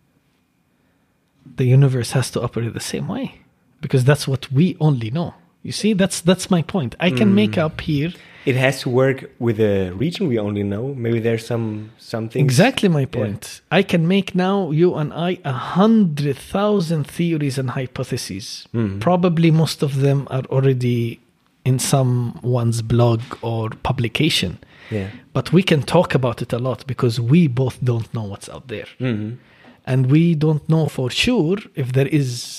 Speaker 3: The universe has to operate the same way, because that's what we only know. You see, that's my point. I can make up here.
Speaker 2: It has to work with a region we only know. Maybe there's some things.
Speaker 3: Exactly my point. Yeah. I can make now, you and I, 100,000 theories and hypotheses. Probably most of them are already in someone's blog or publication.
Speaker 2: Yeah.
Speaker 3: But we can talk about it a lot because we both don't know what's out there. And we don't know for sure if there is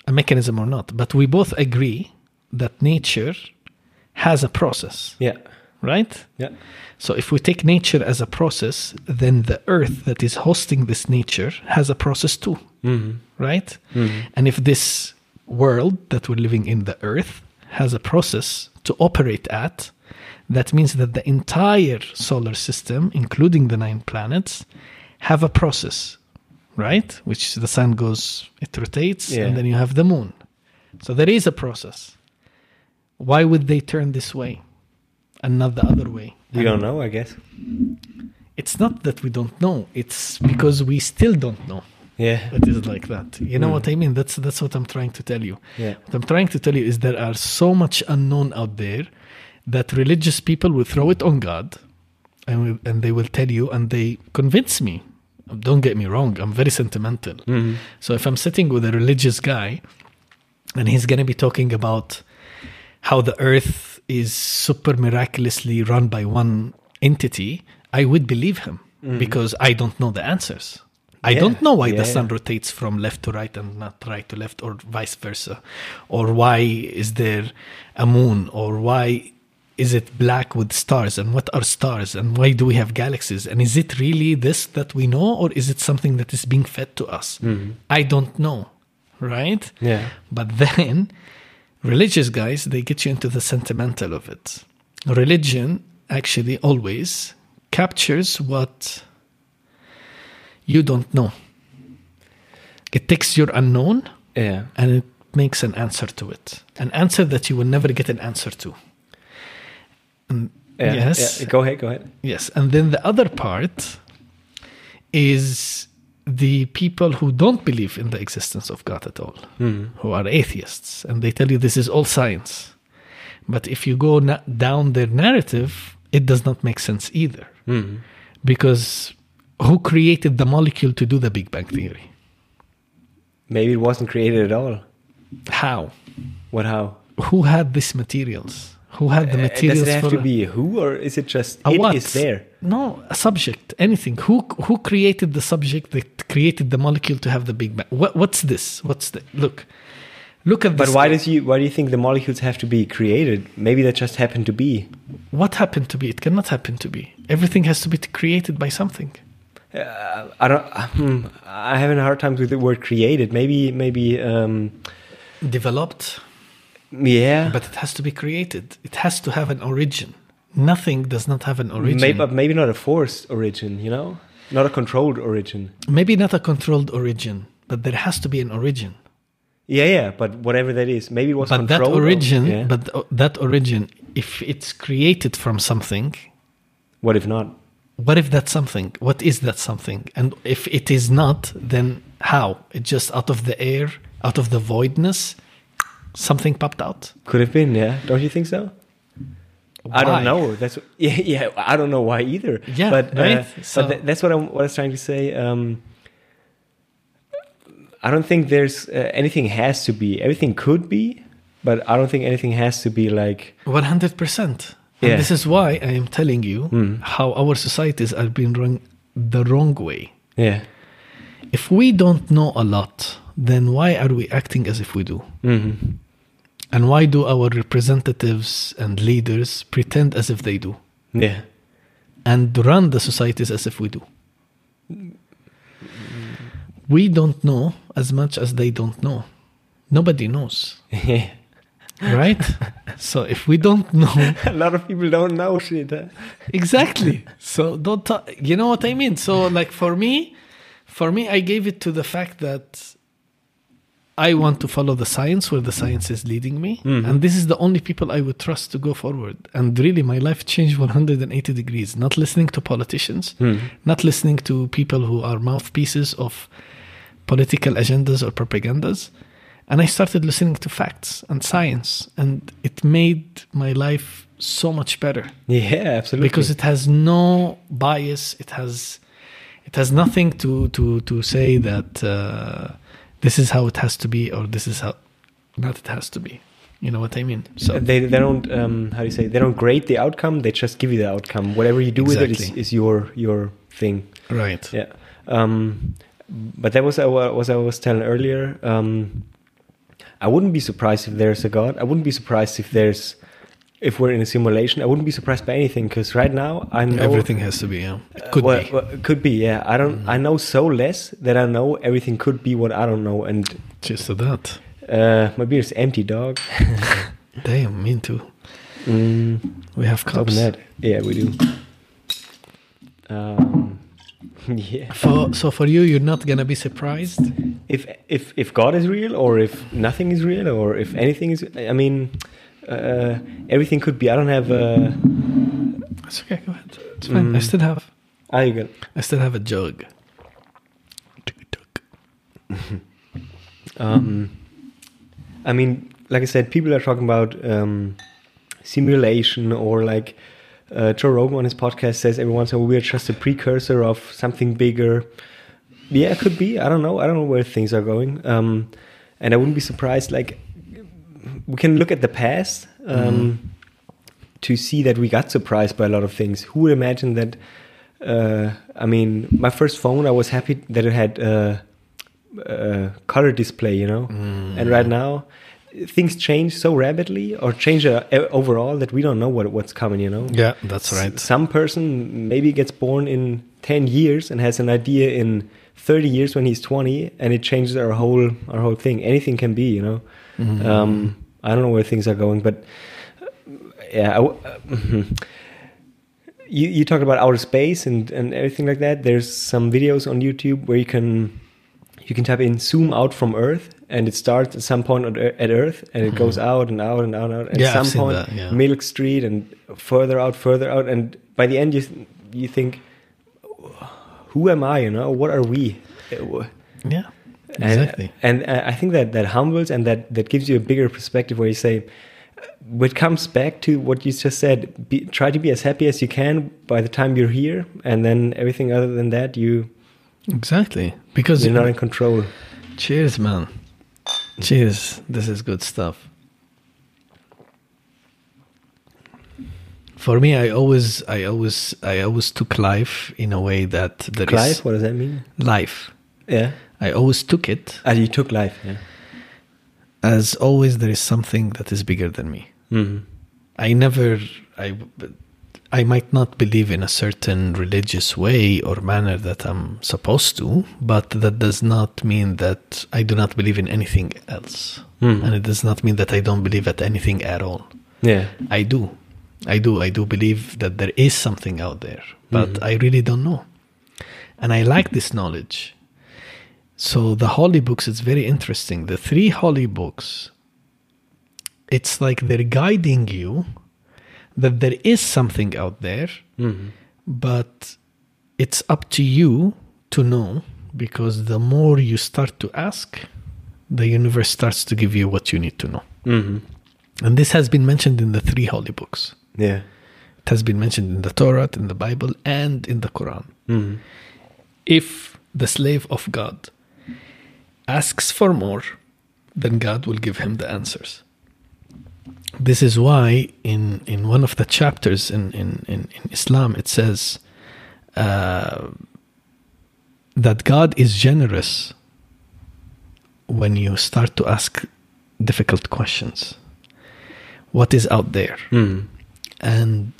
Speaker 3: a mechanism or not, but we both agree that nature has a process.
Speaker 2: Yeah.
Speaker 3: Right?
Speaker 2: Yeah.
Speaker 3: So if we take nature as a process, then the earth that is hosting this nature has a process too.
Speaker 2: Mm-hmm.
Speaker 3: Right?
Speaker 2: Mm-hmm.
Speaker 3: And if this world that we're living in, the earth, has a process to operate at, that means that the entire solar system, including the 9 planets, have a process, right? Which the sun goes, it rotates, and then you have the moon. So there is a process. Why would they turn this way and not the other way?
Speaker 2: We don't know, I guess.
Speaker 3: It's not that we don't know. It's because we still don't know.
Speaker 2: Yeah.
Speaker 3: It is like that. You know what I mean? That's what I'm trying to tell you.
Speaker 2: Yeah.
Speaker 3: What I'm trying to tell you is there are so much unknown out there that religious people will throw it on God and they will tell you, and they convince me. Don't get me wrong, I'm very sentimental.
Speaker 2: Mm-hmm.
Speaker 3: So if I'm sitting with a religious guy and he's going to be talking about how the earth is super miraculously run by one entity, I would believe him because I don't know the answers. I don't know why the sun rotates from left to right and not right to left, or vice versa. Or why is there a moon, or why is it black with stars, and what are stars, and why do we have galaxies, and is it really this that we know, or is it something that is being fed to us? I don't know, right?
Speaker 2: Yeah.
Speaker 3: But then religious guys, they get you into the sentimental of it. Religion actually always captures what you don't know. It takes your unknown and it makes an answer to it. An answer that you will never get an answer to. Yes.
Speaker 2: Go ahead.
Speaker 3: Yes. And then the other part is the people who don't believe in the existence of God at all, who are atheists, and they tell you this is all science. But if you go down their narrative, it does not make sense either. Because who created the molecule to do the Big Bang Theory?
Speaker 2: Maybe it wasn't created at all.
Speaker 3: How?
Speaker 2: What how?
Speaker 3: Who had these materials? Who had the materials?
Speaker 2: Does it have to be who, or is it just it is there?
Speaker 3: No, a subject, anything. Who created the subject that created the molecule to have the Big Bang? What's this? Look at this.
Speaker 2: But why do you think the molecules have to be created? Maybe that just happened to be.
Speaker 3: What happened to be? It cannot happen to be. Everything has to be created by something.
Speaker 2: I have a hard time with the word created. Maybe
Speaker 3: developed.
Speaker 2: Yeah,
Speaker 3: but it has to be created. It has to have an origin. Nothing does not have an origin.
Speaker 2: Maybe not a forced origin, you know? Not a controlled origin.
Speaker 3: Maybe not a controlled origin, but there has to be an origin.
Speaker 2: Yeah, but whatever that is. Maybe it was controlled.
Speaker 3: But that origin, if it's created from something...
Speaker 2: What if not?
Speaker 3: What if that's something? What is that something? And if it is not, then how? It's just out of the air, out of the voidness... Something popped out.
Speaker 2: Could have been, yeah. Don't you think so? Why? I don't know. That's I don't know why either.
Speaker 3: Yeah,
Speaker 2: but
Speaker 3: right.
Speaker 2: But that's what I was trying to say. I don't think there's anything has to be. Everything could be, but I don't think anything has to be like
Speaker 3: 100%. And this is why I am telling you how our societies are being run the wrong way.
Speaker 2: Yeah.
Speaker 3: If we don't know a lot, then why are we acting as if we do? And why do our representatives and leaders pretend as if they do?
Speaker 2: Yeah.
Speaker 3: And run the societies as if we do? We don't know as much as they don't know. Nobody knows. Right? So if we don't know...
Speaker 2: A lot of people don't know shit. Huh?
Speaker 3: Exactly. So don't talk... You know what I mean? So like for me, I gave it to the fact that I want to follow the science where the science is leading me. And this is the only people I would trust to go forward. And really, my life changed 180 degrees. Not listening to politicians, not listening to people who are mouthpieces of political agendas or propagandas. And I started listening to facts and science. And it made my life so much better.
Speaker 2: Yeah, absolutely.
Speaker 3: Because it has no bias. It has nothing to say that... this is how it has to be, or this is how not it has to be. You know what I mean? So
Speaker 2: they don't how do you say? They don't grade the outcome. They just give you the outcome. Whatever you do with it is your thing.
Speaker 3: Right.
Speaker 2: Yeah. But that was what I was telling earlier. I wouldn't be surprised if there's a God. I wouldn't be surprised if we're in a simulation. I wouldn't be surprised by anything, because right now I know
Speaker 3: everything has to be. Yeah, could be.
Speaker 2: Well, could be. Yeah, I don't. I know so less that I know everything could be what I don't know. And
Speaker 3: just to that,
Speaker 2: my beer is empty, dog.
Speaker 3: Damn, me too. We have cups.
Speaker 2: Yeah, we do. Yeah.
Speaker 3: For you, you're not gonna be surprised
Speaker 2: if God is real, or if nothing is real, or if anything is. I mean. Everything could be. I don't have.
Speaker 3: It's okay. Go ahead. It's fine. I still have.
Speaker 2: You good?
Speaker 3: I still have a jug.
Speaker 2: I mean, like I said, people are talking about simulation, or like Joe Rogan on his podcast says every once in a while we're just a precursor of something bigger. Yeah, it could be. I don't know. I don't know where things are going. And I wouldn't be surprised. Like, we can look at the past to see that we got surprised by a lot of things. Who would imagine that? I mean, my first phone, I was happy that it had color display, you know. And right now, things change so rapidly, or change overall, that we don't know what's coming, you know.
Speaker 3: Yeah, that's right.
Speaker 2: Some person maybe gets born in 10 years and has an idea in 30 years when he's 20, and it changes our whole thing. Anything can be, you know. I don't know where things are going, but yeah. You talked about outer space and everything like that. There's some videos on YouTube where you can type in "zoom out from Earth," and it starts at some point at Earth, and it goes out and out and out and out. And at some point, Milk Street, and further out, and by the end, you think, who am I? You know, what are we?
Speaker 3: Yeah. Exactly.
Speaker 2: And I think that humbles, and that gives you a bigger perspective, where you say, it comes back to what you just said, try to be as happy as you can by the time you're here, and then everything other than that,
Speaker 3: exactly, because
Speaker 2: you're not in control.
Speaker 3: Cheers, man. Cheers. This is good stuff. For me, I always took life in a way that there is...
Speaker 2: Life? What does that mean?
Speaker 3: Life.
Speaker 2: Yeah.
Speaker 3: I always took it.
Speaker 2: You took life, yeah.
Speaker 3: As always, there is something that is bigger than me. I might not believe in a certain religious way or manner that I'm supposed to, but that does not mean that I do not believe in anything else. And it does not mean that I don't believe at anything at all.
Speaker 2: Yeah.
Speaker 3: I do believe that there is something out there, but I really don't know. And I like this knowledge. So the holy books, it's very interesting. The 3 holy books, it's like they're guiding you that there is something out there, but it's up to you to know, because the more you start to ask, the universe starts to give you what you need to know. And this has been mentioned in the 3 holy books.
Speaker 2: Yeah.
Speaker 3: It has been mentioned in the Torah, in the Bible, and in the Quran. If the slave of God asks for more, then God will give him the answers. This is why in one of the chapters in Islam, it says that God is generous when you start to ask difficult questions. What is out there? And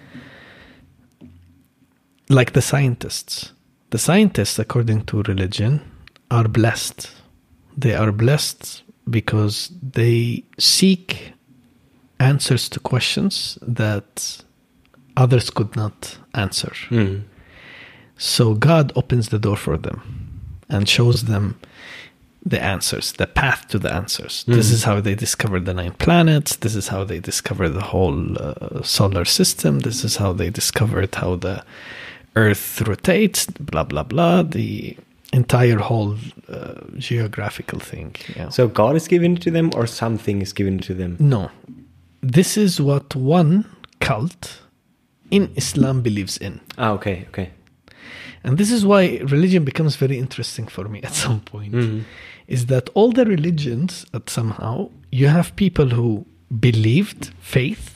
Speaker 3: like the scientists, according to religion, are blessed. They are blessed because they seek answers to questions that others could not answer. So God opens the door for them and shows them the answers, the path to the answers. This is how they discovered the 9 planets. This is how they discovered the whole solar system. This is how they discovered how the Earth rotates, blah, blah, blah. The entire whole geographical thing. Yeah.
Speaker 2: So God is given to them, or something is given to them?
Speaker 3: No. This is what one cult in Islam believes in.
Speaker 2: Okay.
Speaker 3: And this is why religion becomes very interesting for me at some point. Is that all the religions, somehow, you have people who believed faith,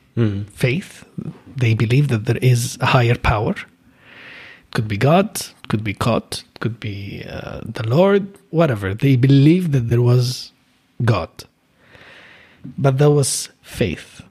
Speaker 3: they believe that there is a higher power. Could be God, could be God, could be the Lord, whatever. They believe that there was God. But that was faith.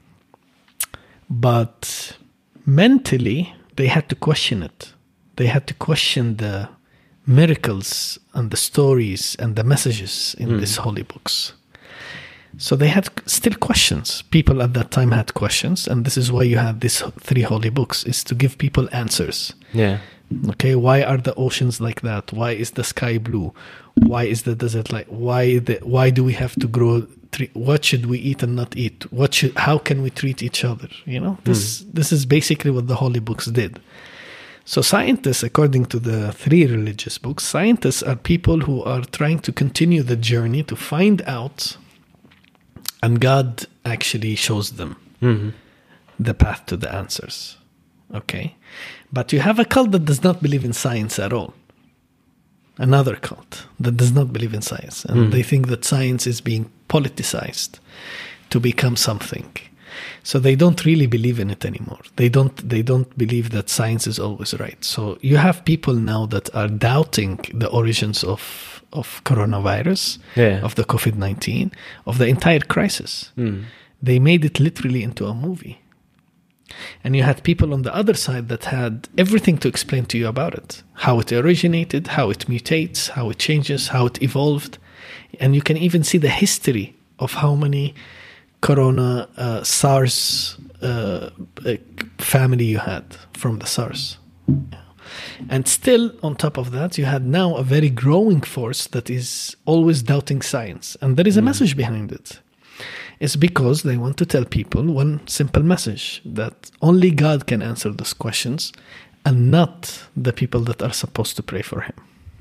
Speaker 3: But mentally, they had to question it. They had to question the miracles and the stories and the messages in these holy books. So they had still questions. People at that time had questions, and this is why you have these 3 holy books, is to give people answers.
Speaker 2: Yeah.
Speaker 3: Okay, why are the oceans like that? Why is the sky blue? Why is the desert like? Why do we have to grow? What should we eat and not eat? How can we treat each other? You know, this is basically what the holy books did. So scientists, according to the 3 religious books, scientists are people who are trying to continue the journey to find out, and God actually shows them the path to the answers. Okay, but you have a cult that does not believe in science at all. Another cult that does not believe in science, and they think that science is being politicized to become something. So they don't really believe in it anymore. They don't believe that science is always right. So you have people now that are doubting the origins of coronavirus, of the COVID-19, of the entire crisis. They made it literally into a movie. And you had people on the other side that had everything to explain to you about it. How it originated, how it mutates, how it changes, how it evolved. And you can even see the history of how many corona SARS family you had from the SARS. And still, on top of that, you had now a very growing force that is always doubting science. And there is a message behind it. It's because they want to tell people one simple message, that only God can answer those questions and not the people that are supposed to pray for him.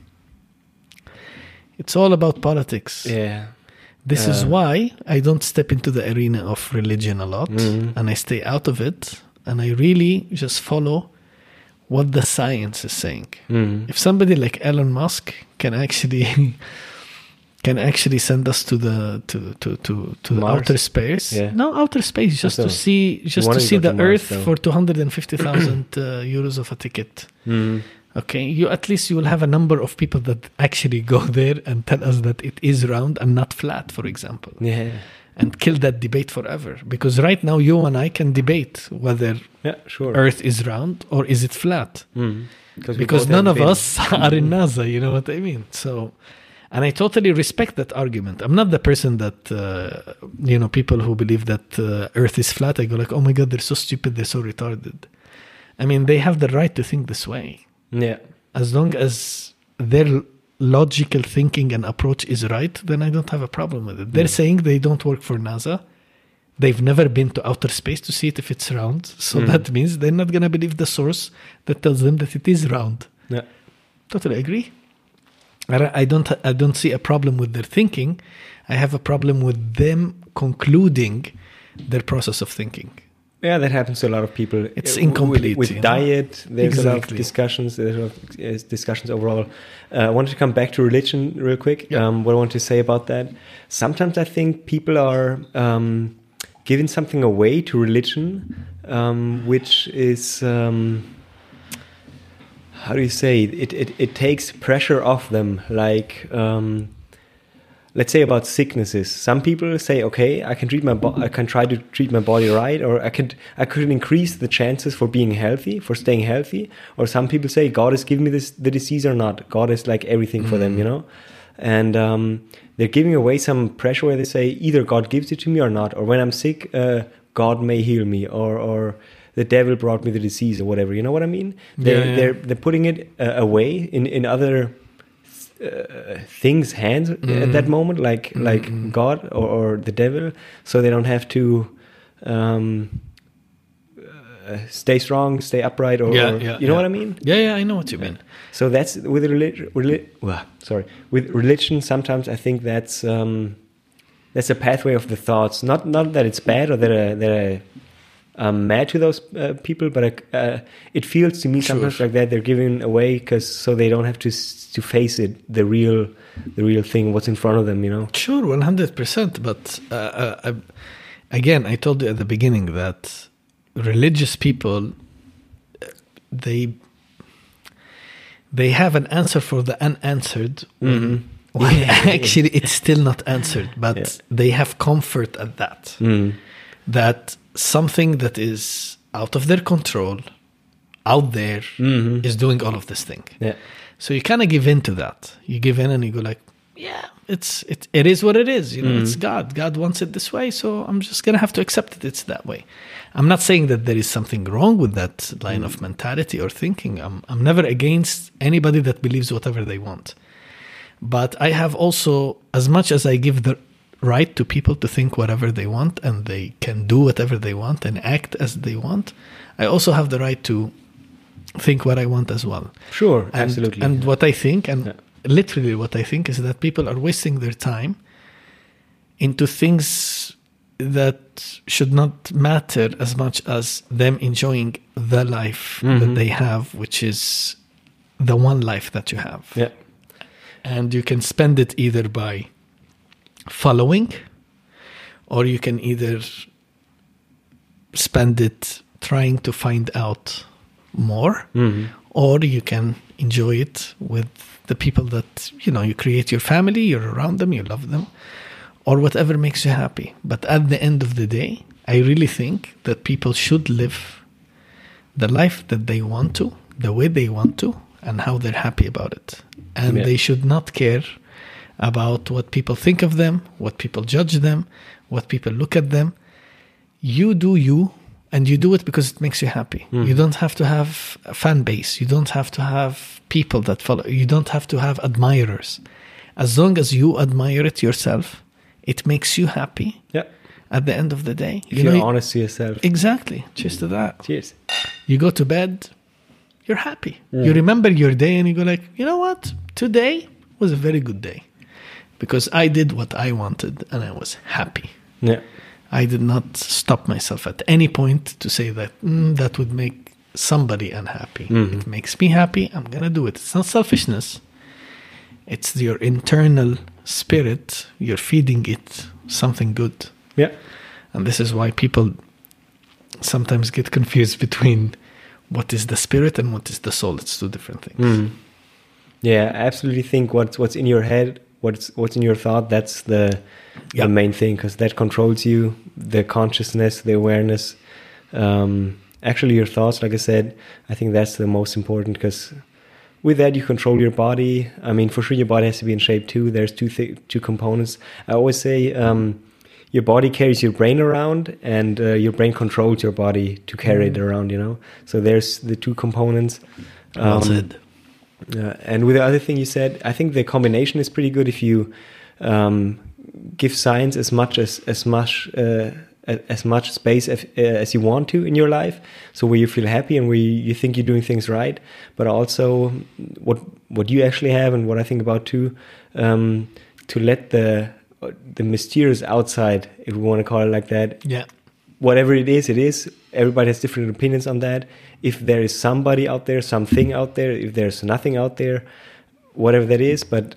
Speaker 3: It's all about politics.
Speaker 2: Yeah.
Speaker 3: This is why I don't step into the arena of religion a lot, and I stay out of it, and I really just follow what the science is saying. If somebody like Elon Musk can actually send us to the outer space. No, outer space, just to see the Earth for 250,000 euros of a ticket. Okay, you will have a number of people that actually go there and tell us that it is round and not flat, for example.
Speaker 2: Yeah.
Speaker 3: And kill that debate forever. Because right now you and I can debate whether Earth is round or is it flat. Because none of us are in NASA, you know what I mean? So, and I totally respect that argument. I'm not the person that, people who believe that Earth is flat, I go like, oh my God, they're so stupid, they're so retarded. I mean, they have the right to think this way.
Speaker 2: Yeah.
Speaker 3: As long as their logical thinking and approach is right, then I don't have a problem with it. They're saying they don't work for NASA. They've never been to outer space to see it if it's round. So that means they're not going to believe the source that tells them that it is round.
Speaker 2: Yeah.
Speaker 3: Totally agree. I don't see a problem with their thinking. I have a problem with them concluding their process of thinking.
Speaker 2: Yeah, that happens to a lot of people.
Speaker 3: It's incomplete.
Speaker 2: With diet, there's a lot of discussions. There's a lot of discussions overall. I wanted to come back to religion real quick. What I want to say about that. Sometimes I think people are giving something away to religion, which is... how do you say it takes pressure off them, like let's say about sicknesses. Some people say, okay, I can try to treat my body right, or I could increase the chances for being healthy, for staying healthy. Or some people say God is giving me the disease or not. God is like everything for them, you know. And they're giving away some pressure where they say either God gives it to me or not, or when I'm sick, God may heal me, or the devil brought me the disease or whatever. You know what I mean? They're putting it away in other things' hands at that moment, like God or the devil, so they don't have to stay strong, stay upright, or you know what I mean?
Speaker 3: Yeah, I know what you mean.
Speaker 2: So that's with with religion. Sometimes I think that's a pathway of the thoughts. Not that it's bad or that I'm mad to those people, but it feels to me sometimes like that they're giving away so they don't have to face it, the real thing, what's in front of them, you know.
Speaker 3: Sure, 100%. But again, I told you at the beginning that religious people, they have an answer for the unanswered Actually, it's still not answered, but they have comfort at that. That something that is out of their control, out there, is doing all of this thing.
Speaker 2: Yeah.
Speaker 3: So you kind of give in to that. You give in and you go like, yeah, it is what it is. You know, it's God. God wants it this way, so I'm just going to have to accept it. It's that way. I'm not saying that there is something wrong with that line of mentality or thinking. I'm never against anybody that believes whatever they want. But I have also, as much as I give the right to people to think whatever they want and they can do whatever they want and act as they want, I also have the right to think what I want as well.
Speaker 2: Sure, absolutely.
Speaker 3: And what I think, literally what I think, is that people are wasting their time into things that should not matter as much as them enjoying the life that they have, which is the one life that you have.
Speaker 2: Yeah.
Speaker 3: And you can spend it either by following, or you can either spend it trying to find out more, or you can enjoy it with the people that, you know, you create your family, you're around them, you love them, or whatever makes you happy. But at the end of the day, I really think that people should live the life that they want to, the way they want to, and how they're happy about it. And they should not care about what people think of them, what people judge them, what people look at them. You do you, and you do it because it makes you happy. You don't have to have a fan base. You don't have to have people that follow. You don't have to have admirers. As long as you admire it yourself, it makes you happy.
Speaker 2: Yeah.
Speaker 3: At the end of the day.
Speaker 2: If you're honest to yourself.
Speaker 3: Exactly. Cheers to that.
Speaker 2: Cheers.
Speaker 3: You go to bed, you're happy. You remember your day and you go like, you know what? Today was a very good day. Because I did what I wanted and I was happy.
Speaker 2: Yeah.
Speaker 3: I did not stop myself at any point to say that that would make somebody unhappy. It makes me happy. I'm going to do it. It's not selfishness. It's your internal spirit. You're feeding it something good.
Speaker 2: Yeah. And
Speaker 3: this is why people sometimes get confused between what is the spirit and what is the soul. It's two different things.
Speaker 2: Yeah, I absolutely think what's in your head, what's in your thought, that's the main thing, because that controls you, the consciousness, the awareness. Actually, your thoughts, like I said, I think that's the most important, because with that you control your body. I mean, for sure, your body has to be in shape too. There's two components. I always say your body carries your brain around, and your brain controls your body to carry it around, you know? So there's the two components.
Speaker 3: Well said.
Speaker 2: And with the other thing you said, I think the combination is pretty good if you give science as much space as you want to in your life, so where you feel happy and where you think you're doing things right, but also what you actually have, and what I think about too, to let the mysterious outside, if we want to call it like that, whatever it is. Everybody has different opinions on that. If there is somebody out there, something out there, if there's nothing out there, whatever that is, but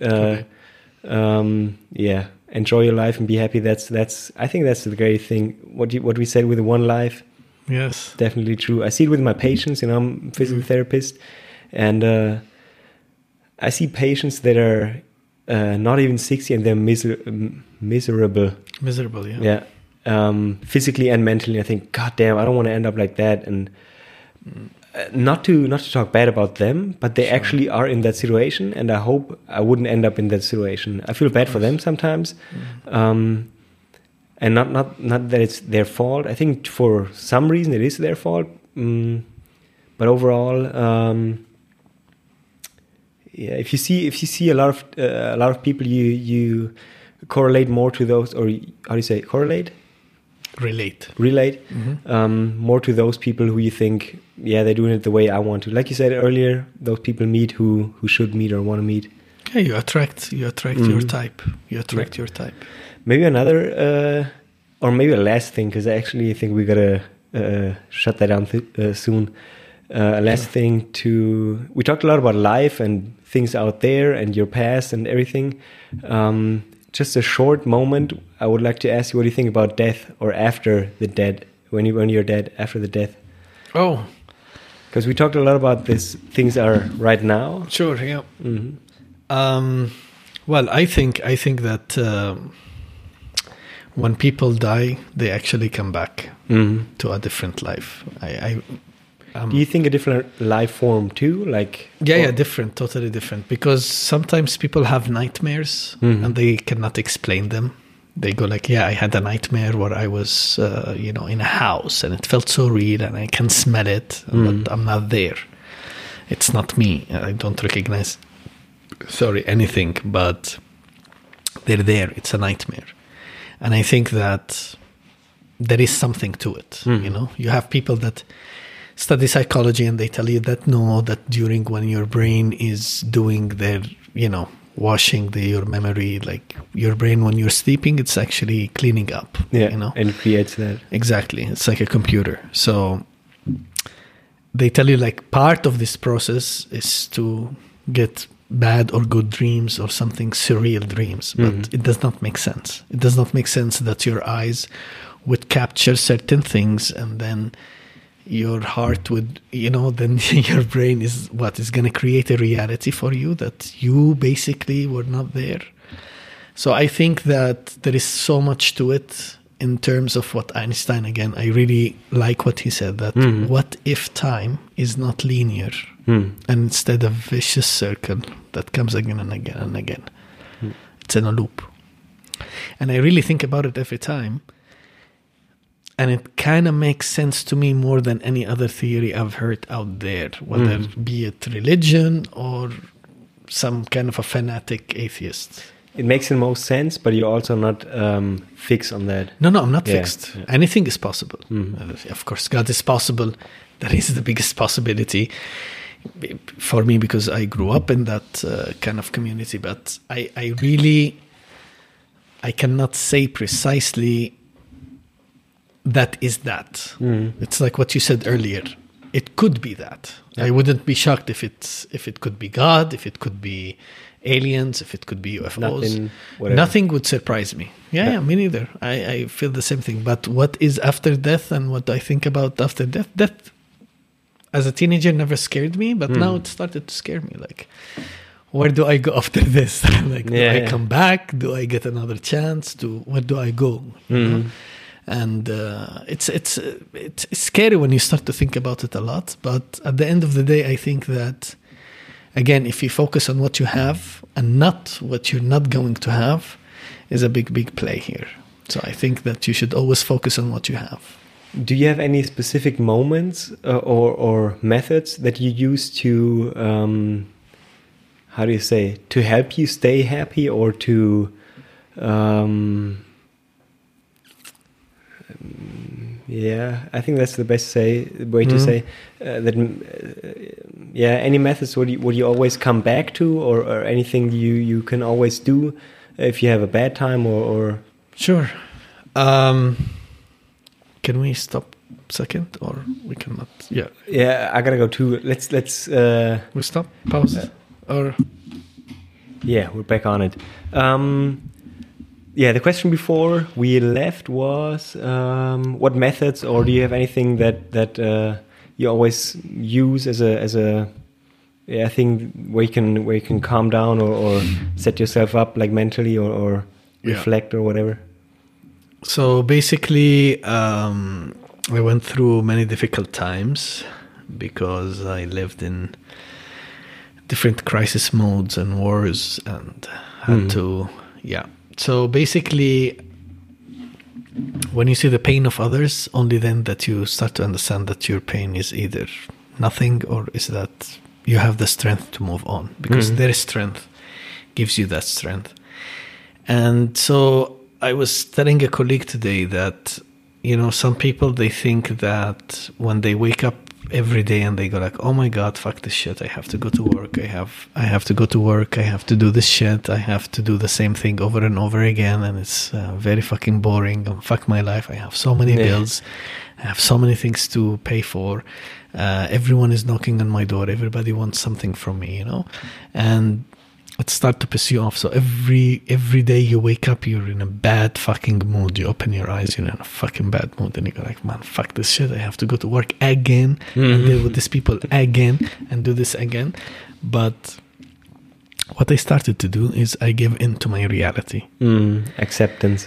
Speaker 2: enjoy your life and be happy. That's I think that's the great thing. What we said with the one life.
Speaker 3: Yes,
Speaker 2: definitely true. I see it with my patients. You know, I'm a physical therapist, and I see patients that are not even 60 and they're miserable.
Speaker 3: Miserable, yeah.
Speaker 2: Yeah, physically and mentally. I think, God damn, I don't want to end up like that. And not to talk bad about them, but they actually are in that situation, and I hope I wouldn't end up in that situation. I feel bad for them sometimes, and not that it's their fault. I think for some reason it is their fault, but overall, if you see a lot of people, you correlate more to those, or how do you say correlate? Relate. More to those people who you think, they're doing it the way I want to. Like you said earlier, those people meet who should meet or want to meet. Yeah,
Speaker 3: you attract your type. You attract your type.
Speaker 2: Maybe another, or maybe a last thing, because I actually think we gotta shut that down soon. A last thing we talked a lot about life and things out there and your past and everything. Just a short moment, I would like to ask you, what do you think about death, or after the dead, when you're dead, after the death?
Speaker 3: Oh.
Speaker 2: Because we talked a lot about this, things are right now.
Speaker 3: Sure, yeah. Well, I think that when people die, they actually come back to a different life.
Speaker 2: Do you think a different life form too? Like
Speaker 3: different, totally different. Because sometimes people have nightmares and they cannot explain them. They go like, I had a nightmare where I was, in a house and it felt so real and I can smell it, but I'm not there. It's not me. I don't recognize, anything, but they're there. It's a nightmare. And I think that there is something to it. You have people that study psychology and they tell you that during when your brain is doing their, washing your memory, like your brain when you're sleeping, it's actually cleaning up.
Speaker 2: And it creates that.
Speaker 3: Exactly. It's like a computer. So they tell you like part of this process is to get bad or good dreams or something surreal dreams, but it does not make sense. It does not make sense that your eyes would capture certain things and then your heart would, then your brain is going to create a reality for you that you basically were not there. So I think that there is so much to it in terms of what Einstein, again, I really like what he said, that what if time is not linear and instead a vicious circle that comes again and again and again. It's in a loop. And I really think about it every time. And it kind of makes sense to me more than any other theory I've heard out there, whether be it religion or some kind of a fanatic atheist.
Speaker 2: It makes the most sense, but you're also not fixed on that.
Speaker 3: No, I'm not fixed. Yeah. Anything is possible. Of course, God is possible. That is the biggest possibility for me because I grew up in that kind of community. But I cannot say precisely that is that. It's like what you said earlier. It could be that. I wouldn't be shocked if it could be God, if it could be aliens, if it could be UFOs. Nothing would surprise me. Yeah, me neither. I feel the same thing. But what is after death and what I think about after death as a teenager never scared me, but now it started to scare me. Like, where do I go after this? Like, do I come back? Do I get another chance? Where do I go? You know? And it's scary when you start to think about it a lot. But at the end of the day, I think that, again, if you focus on what you have and not what you're not going to have, is a big play here. So I think that you should always focus on what you have.
Speaker 2: Do you have any specific moments or methods that you use to, to help you stay happy or to... I think that's the best way to say that. Any methods would you always come back to, or anything you can always do if you have a bad time or.
Speaker 3: Sure. Can we stop a second, or we cannot? Yeah.
Speaker 2: Yeah, I gotta go too. Let's.
Speaker 3: We stop. Pause. Or.
Speaker 2: Yeah, we're back on it. The question before we left was what methods, or do you have anything that you always use as a thing where you can calm down or set yourself up like mentally or reflect or whatever?
Speaker 3: So basically, I went through many difficult times because I lived in different crisis modes and wars and had to. So basically, when you see the pain of others, only then that you start to understand that your pain is either nothing or is that you have the strength to move on, because their strength gives you that strength. And so I was telling a colleague today that, some people, they think that when they wake up every day and they go like, oh my God, fuck this shit. I have to go to work. I have to go to work. I have to do this shit. I have to do the same thing over and over again. And it's very fucking boring. Fuck my life. I have so many bills. I have so many things to pay for. Everyone is knocking on my door. Everybody wants something from me, and it starts to piss you off. So every day you wake up, you're in a bad fucking mood. You open your eyes, you're in a fucking bad mood, and you go like, man, fuck this shit. I have to go to work again and deal with these people again and do this again. But what I started to do is I give in to my reality.
Speaker 2: Acceptance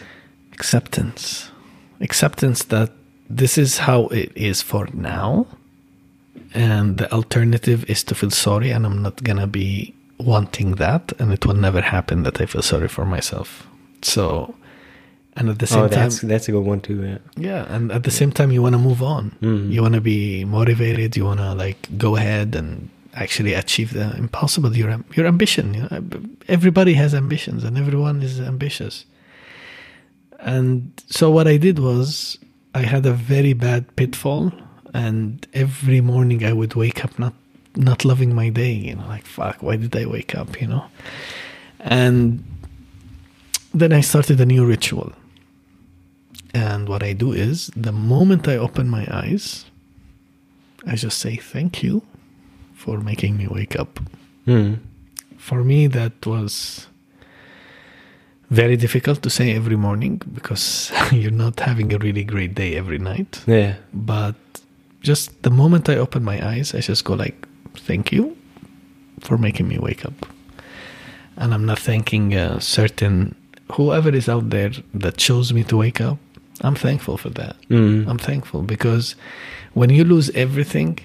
Speaker 3: that this is how it is for now, and the alternative is to feel sorry, and I'm not gonna be wanting that, and it will never happen that I feel sorry for myself. So, and at the same time,
Speaker 2: that's a good one too.
Speaker 3: Yeah, and at the same time, you want to move on. You want to be motivated. You want to like go ahead and actually achieve the impossible. Your ambition. You know? Everybody has ambitions, and everyone is ambitious. And so what I did was I had a very bad pitfall, and every morning I would wake up not loving my day. You know, like fuck, why did I wake up? You know, and then I started a new ritual. And what I do is, the moment I open my eyes, I just say thank you for making me wake up. For me, that was very difficult to say every morning because you're not having a really great day every night.
Speaker 2: Yeah.
Speaker 3: But just the moment I open my eyes, I just go like, thank you for making me wake up. And I'm not thanking certain whoever is out there that chose me to wake up. I'm thankful for that. I'm thankful because when you lose everything,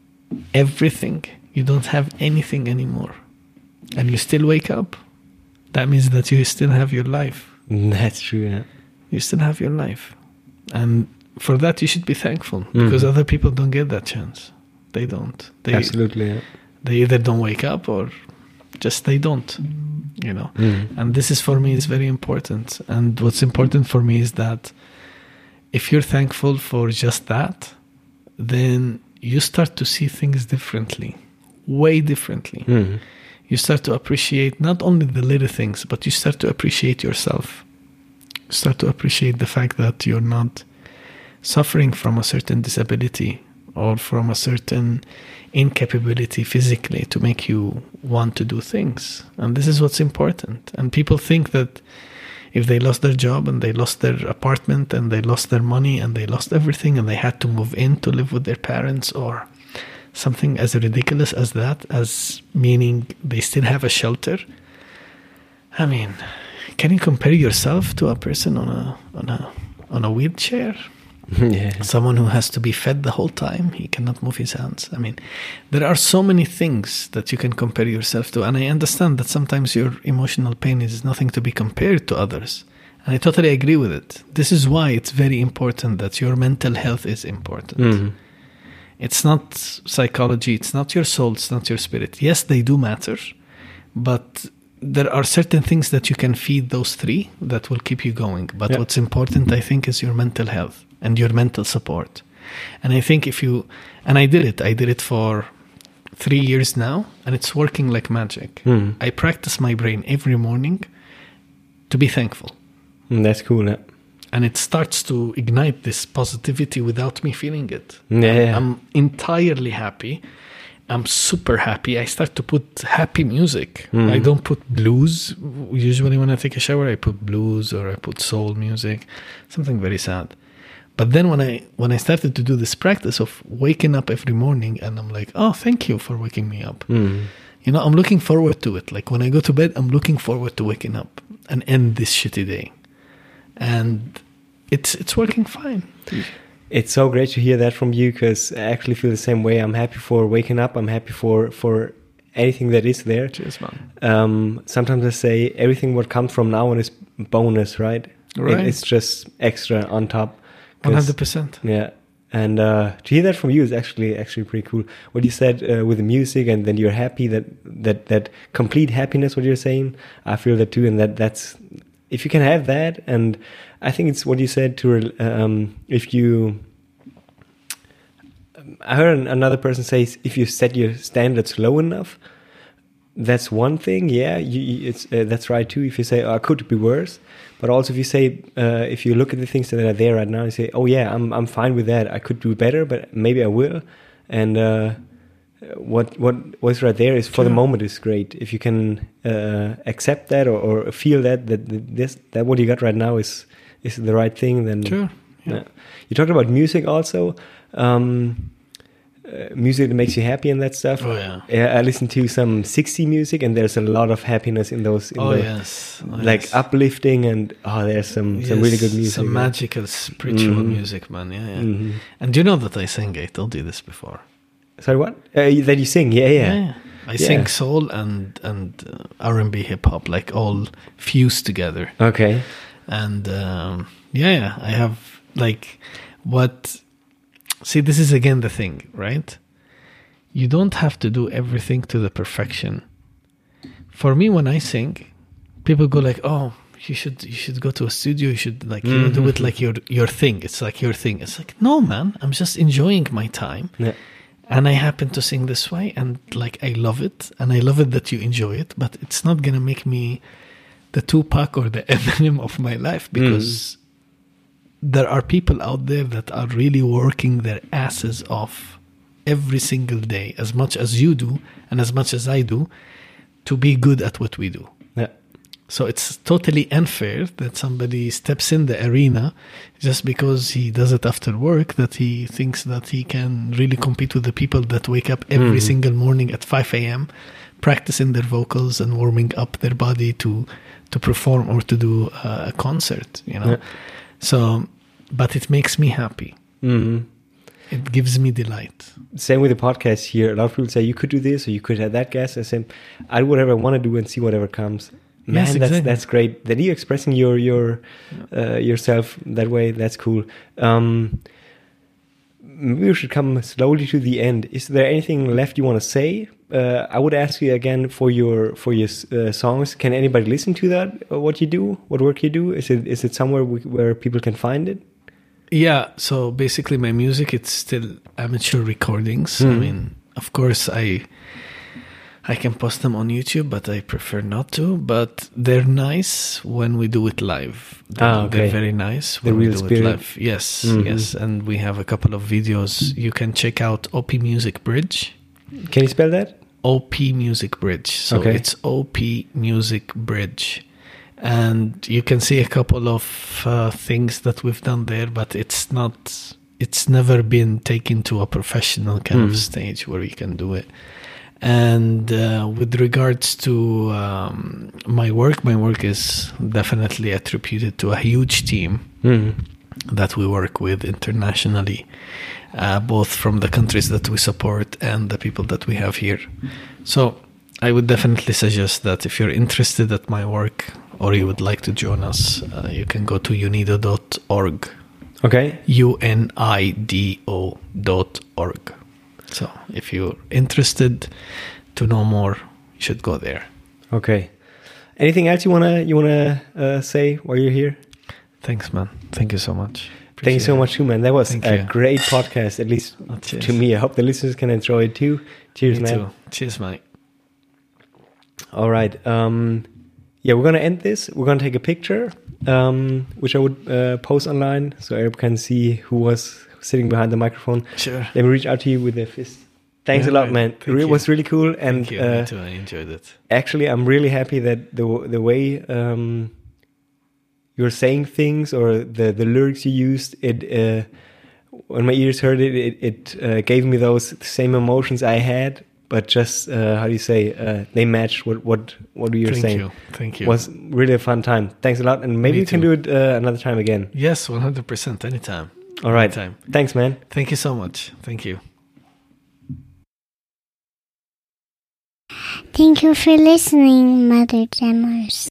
Speaker 3: you don't have anything anymore, and you still wake up, that means that you still have your life.
Speaker 2: That's true, yeah.
Speaker 3: You still have your life. And for that, you should be thankful because other people don't get that chance. They don't.
Speaker 2: Absolutely, yeah.
Speaker 3: They either don't wake up or just they don't, you know. And this is, for me, is very important. And what's important for me is that if you're thankful for just that, then you start to see things differently, way differently. You start to appreciate not only the little things, but you start to appreciate yourself. You start to appreciate the fact that you're not suffering from a certain disability or from a certain incapability physically to make you want to do things. And this is what's important. And people think that if they lost their job and they lost their apartment and they lost their money and they lost everything and they had to move in to live with their parents or something as ridiculous as that, as meaning they still have a shelter. I mean, can you compare yourself to a person on a wheelchair?
Speaker 2: Yeah.
Speaker 3: Someone who has to be fed the whole time. He cannot move his hands. I mean, there are so many things that you can compare yourself to. And I understand that sometimes your emotional pain is nothing to be compared to others. And I totally agree with it. This is why it's very important that your mental health is important. It's not psychology. It's not your soul. It's not your spirit. Yes, they do matter. But there are certain things that you can feed those three that will keep you going. But what's important, I think, is your mental health and your mental support. And I think I did it for 3 years now, and it's working like magic. I practice my brain every morning to be thankful.
Speaker 2: That's cool, yeah.
Speaker 3: And it starts to ignite this positivity without me feeling it.
Speaker 2: Yeah.
Speaker 3: I'm entirely happy. I'm super happy. I start to put happy music. I don't put blues. Usually when I take a shower, I put blues or I put soul music, something very sad. But then when I started to do this practice of waking up every morning, and I'm like, oh, thank you for waking me up. You know, I'm looking forward to it. Like when I go to bed, I'm looking forward to waking up and end this shitty day. And it's working fine.
Speaker 2: It's so great to hear that from you, because I actually feel the same way. I'm happy for waking up. I'm happy for anything that is there.
Speaker 3: Cheers, man.
Speaker 2: Sometimes I say everything what comes from now on is bonus, right? It's just extra on top.
Speaker 3: 100%.
Speaker 2: Yeah. And to hear that from you is actually pretty cool. What you said with the music, and then you're happy, that complete happiness, what you're saying, I feel that too. And that's, if you can have that, and I think it's what you said to, I heard another person say, if you set your standards low enough, that's one thing. Yeah, that's right too. If you say, oh, I could be worse. But also, if you say, if you look at the things that are there right now, you say, "Oh yeah, I'm fine with that. I could do better, but maybe I will." And what's right there is for the moment is great. If you can accept that or feel that what you got right now is the right thing, then
Speaker 3: sure. Yeah.
Speaker 2: You talked about music also. music that makes you happy and that stuff.
Speaker 3: Oh yeah.
Speaker 2: I listen to some 60 music, and there's a lot of happiness in those. Like uplifting, and there's some really good music.
Speaker 3: Some magical spiritual music, man. Yeah. Mm-hmm. And you know that I sing. I told you this before.
Speaker 2: Sorry, what? That you sing? Yeah.
Speaker 3: I sing soul and R&B, hip hop, like all fused together.
Speaker 2: Okay.
Speaker 3: And I have like what. See, this is again the thing, right? You don't have to do everything to the perfection. For me, when I sing, people go like, "Oh, you should go to a studio. You should do it like your thing. It's like your thing." It's like, no, man. I'm just enjoying my time, and I happen to sing this way, and like I love it, and I love it that you enjoy it. But it's not gonna make me the Tupac or the Eminem of my life, because there are people out there that are really working their asses off every single day, as much as you do and as much as I do, to be good at what we do.
Speaker 2: Yeah.
Speaker 3: So it's totally unfair that somebody steps in the arena just because he does it after work, that he thinks that he can really compete with the people that wake up every single morning at 5 a.m., practicing their vocals and warming up their body to perform or to do a concert, you know. Yeah. So, but it makes me happy. Mm-hmm. It gives me delight.
Speaker 2: Same with the podcast here. A lot of people say you could do this or you could have that guest. I say I do whatever I want to do and see whatever comes. Man, yes, exactly. That's great. That you're expressing yourself that way. That's cool. Maybe we should come slowly to the end. Is there anything left you want to say? I would ask you again for your songs. Can anybody listen to that? What you do? What work you do? Is it somewhere where people can find it?
Speaker 3: Yeah. So basically, my music, it's still amateur recordings. I mean, of course, I can post them on YouTube, but I prefer not to. But they're nice when we do it live. They're very nice when we do it live. Yes, yes. And we have a couple of videos. You can check out OP Music Bridge.
Speaker 2: Can you spell that?
Speaker 3: OP Music Bridge. So it's OP Music Bridge. And you can see a couple of things that we've done there, but it's never been taken to a professional kind of stage where we can do it. And with regards to my work is definitely attributed to a huge team that we work with internationally, both from the countries that we support and the people that we have here. So I would definitely suggest that if you're interested at my work or you would like to join us, you can go to unido.org.
Speaker 2: Okay.
Speaker 3: UNIDO.org. So if you're interested to know more, you should go there.
Speaker 2: Okay. Anything else you wanna say while you're here?
Speaker 3: Thanks, man. Thank you so much.
Speaker 2: Thank you so much too, man. That was a great podcast, at least to me. I hope the listeners can enjoy it too. Cheers, man.
Speaker 3: Too. Cheers, mate.
Speaker 2: All right. We're gonna end this. We're gonna take a picture, which I would post online so everyone can see who was sitting behind the microphone.
Speaker 3: Sure.
Speaker 2: Let me reach out to you with a fist. Thanks a lot, man. It was really cool. And
Speaker 3: thank you. Me too. I enjoyed it.
Speaker 2: Actually, I'm really happy that the way you're saying things or the lyrics you used, when my ears heard it gave me those same emotions I had, but just how do you say they matched what you're saying.
Speaker 3: Thank you.
Speaker 2: It was really a fun time. Thanks a lot, and maybe we can do it another time again.
Speaker 3: Yes, 100%. Anytime.
Speaker 2: All right. Thanks, man.
Speaker 3: Thank you so much. Thank you.
Speaker 1: Thank you for listening, Mother Jammers.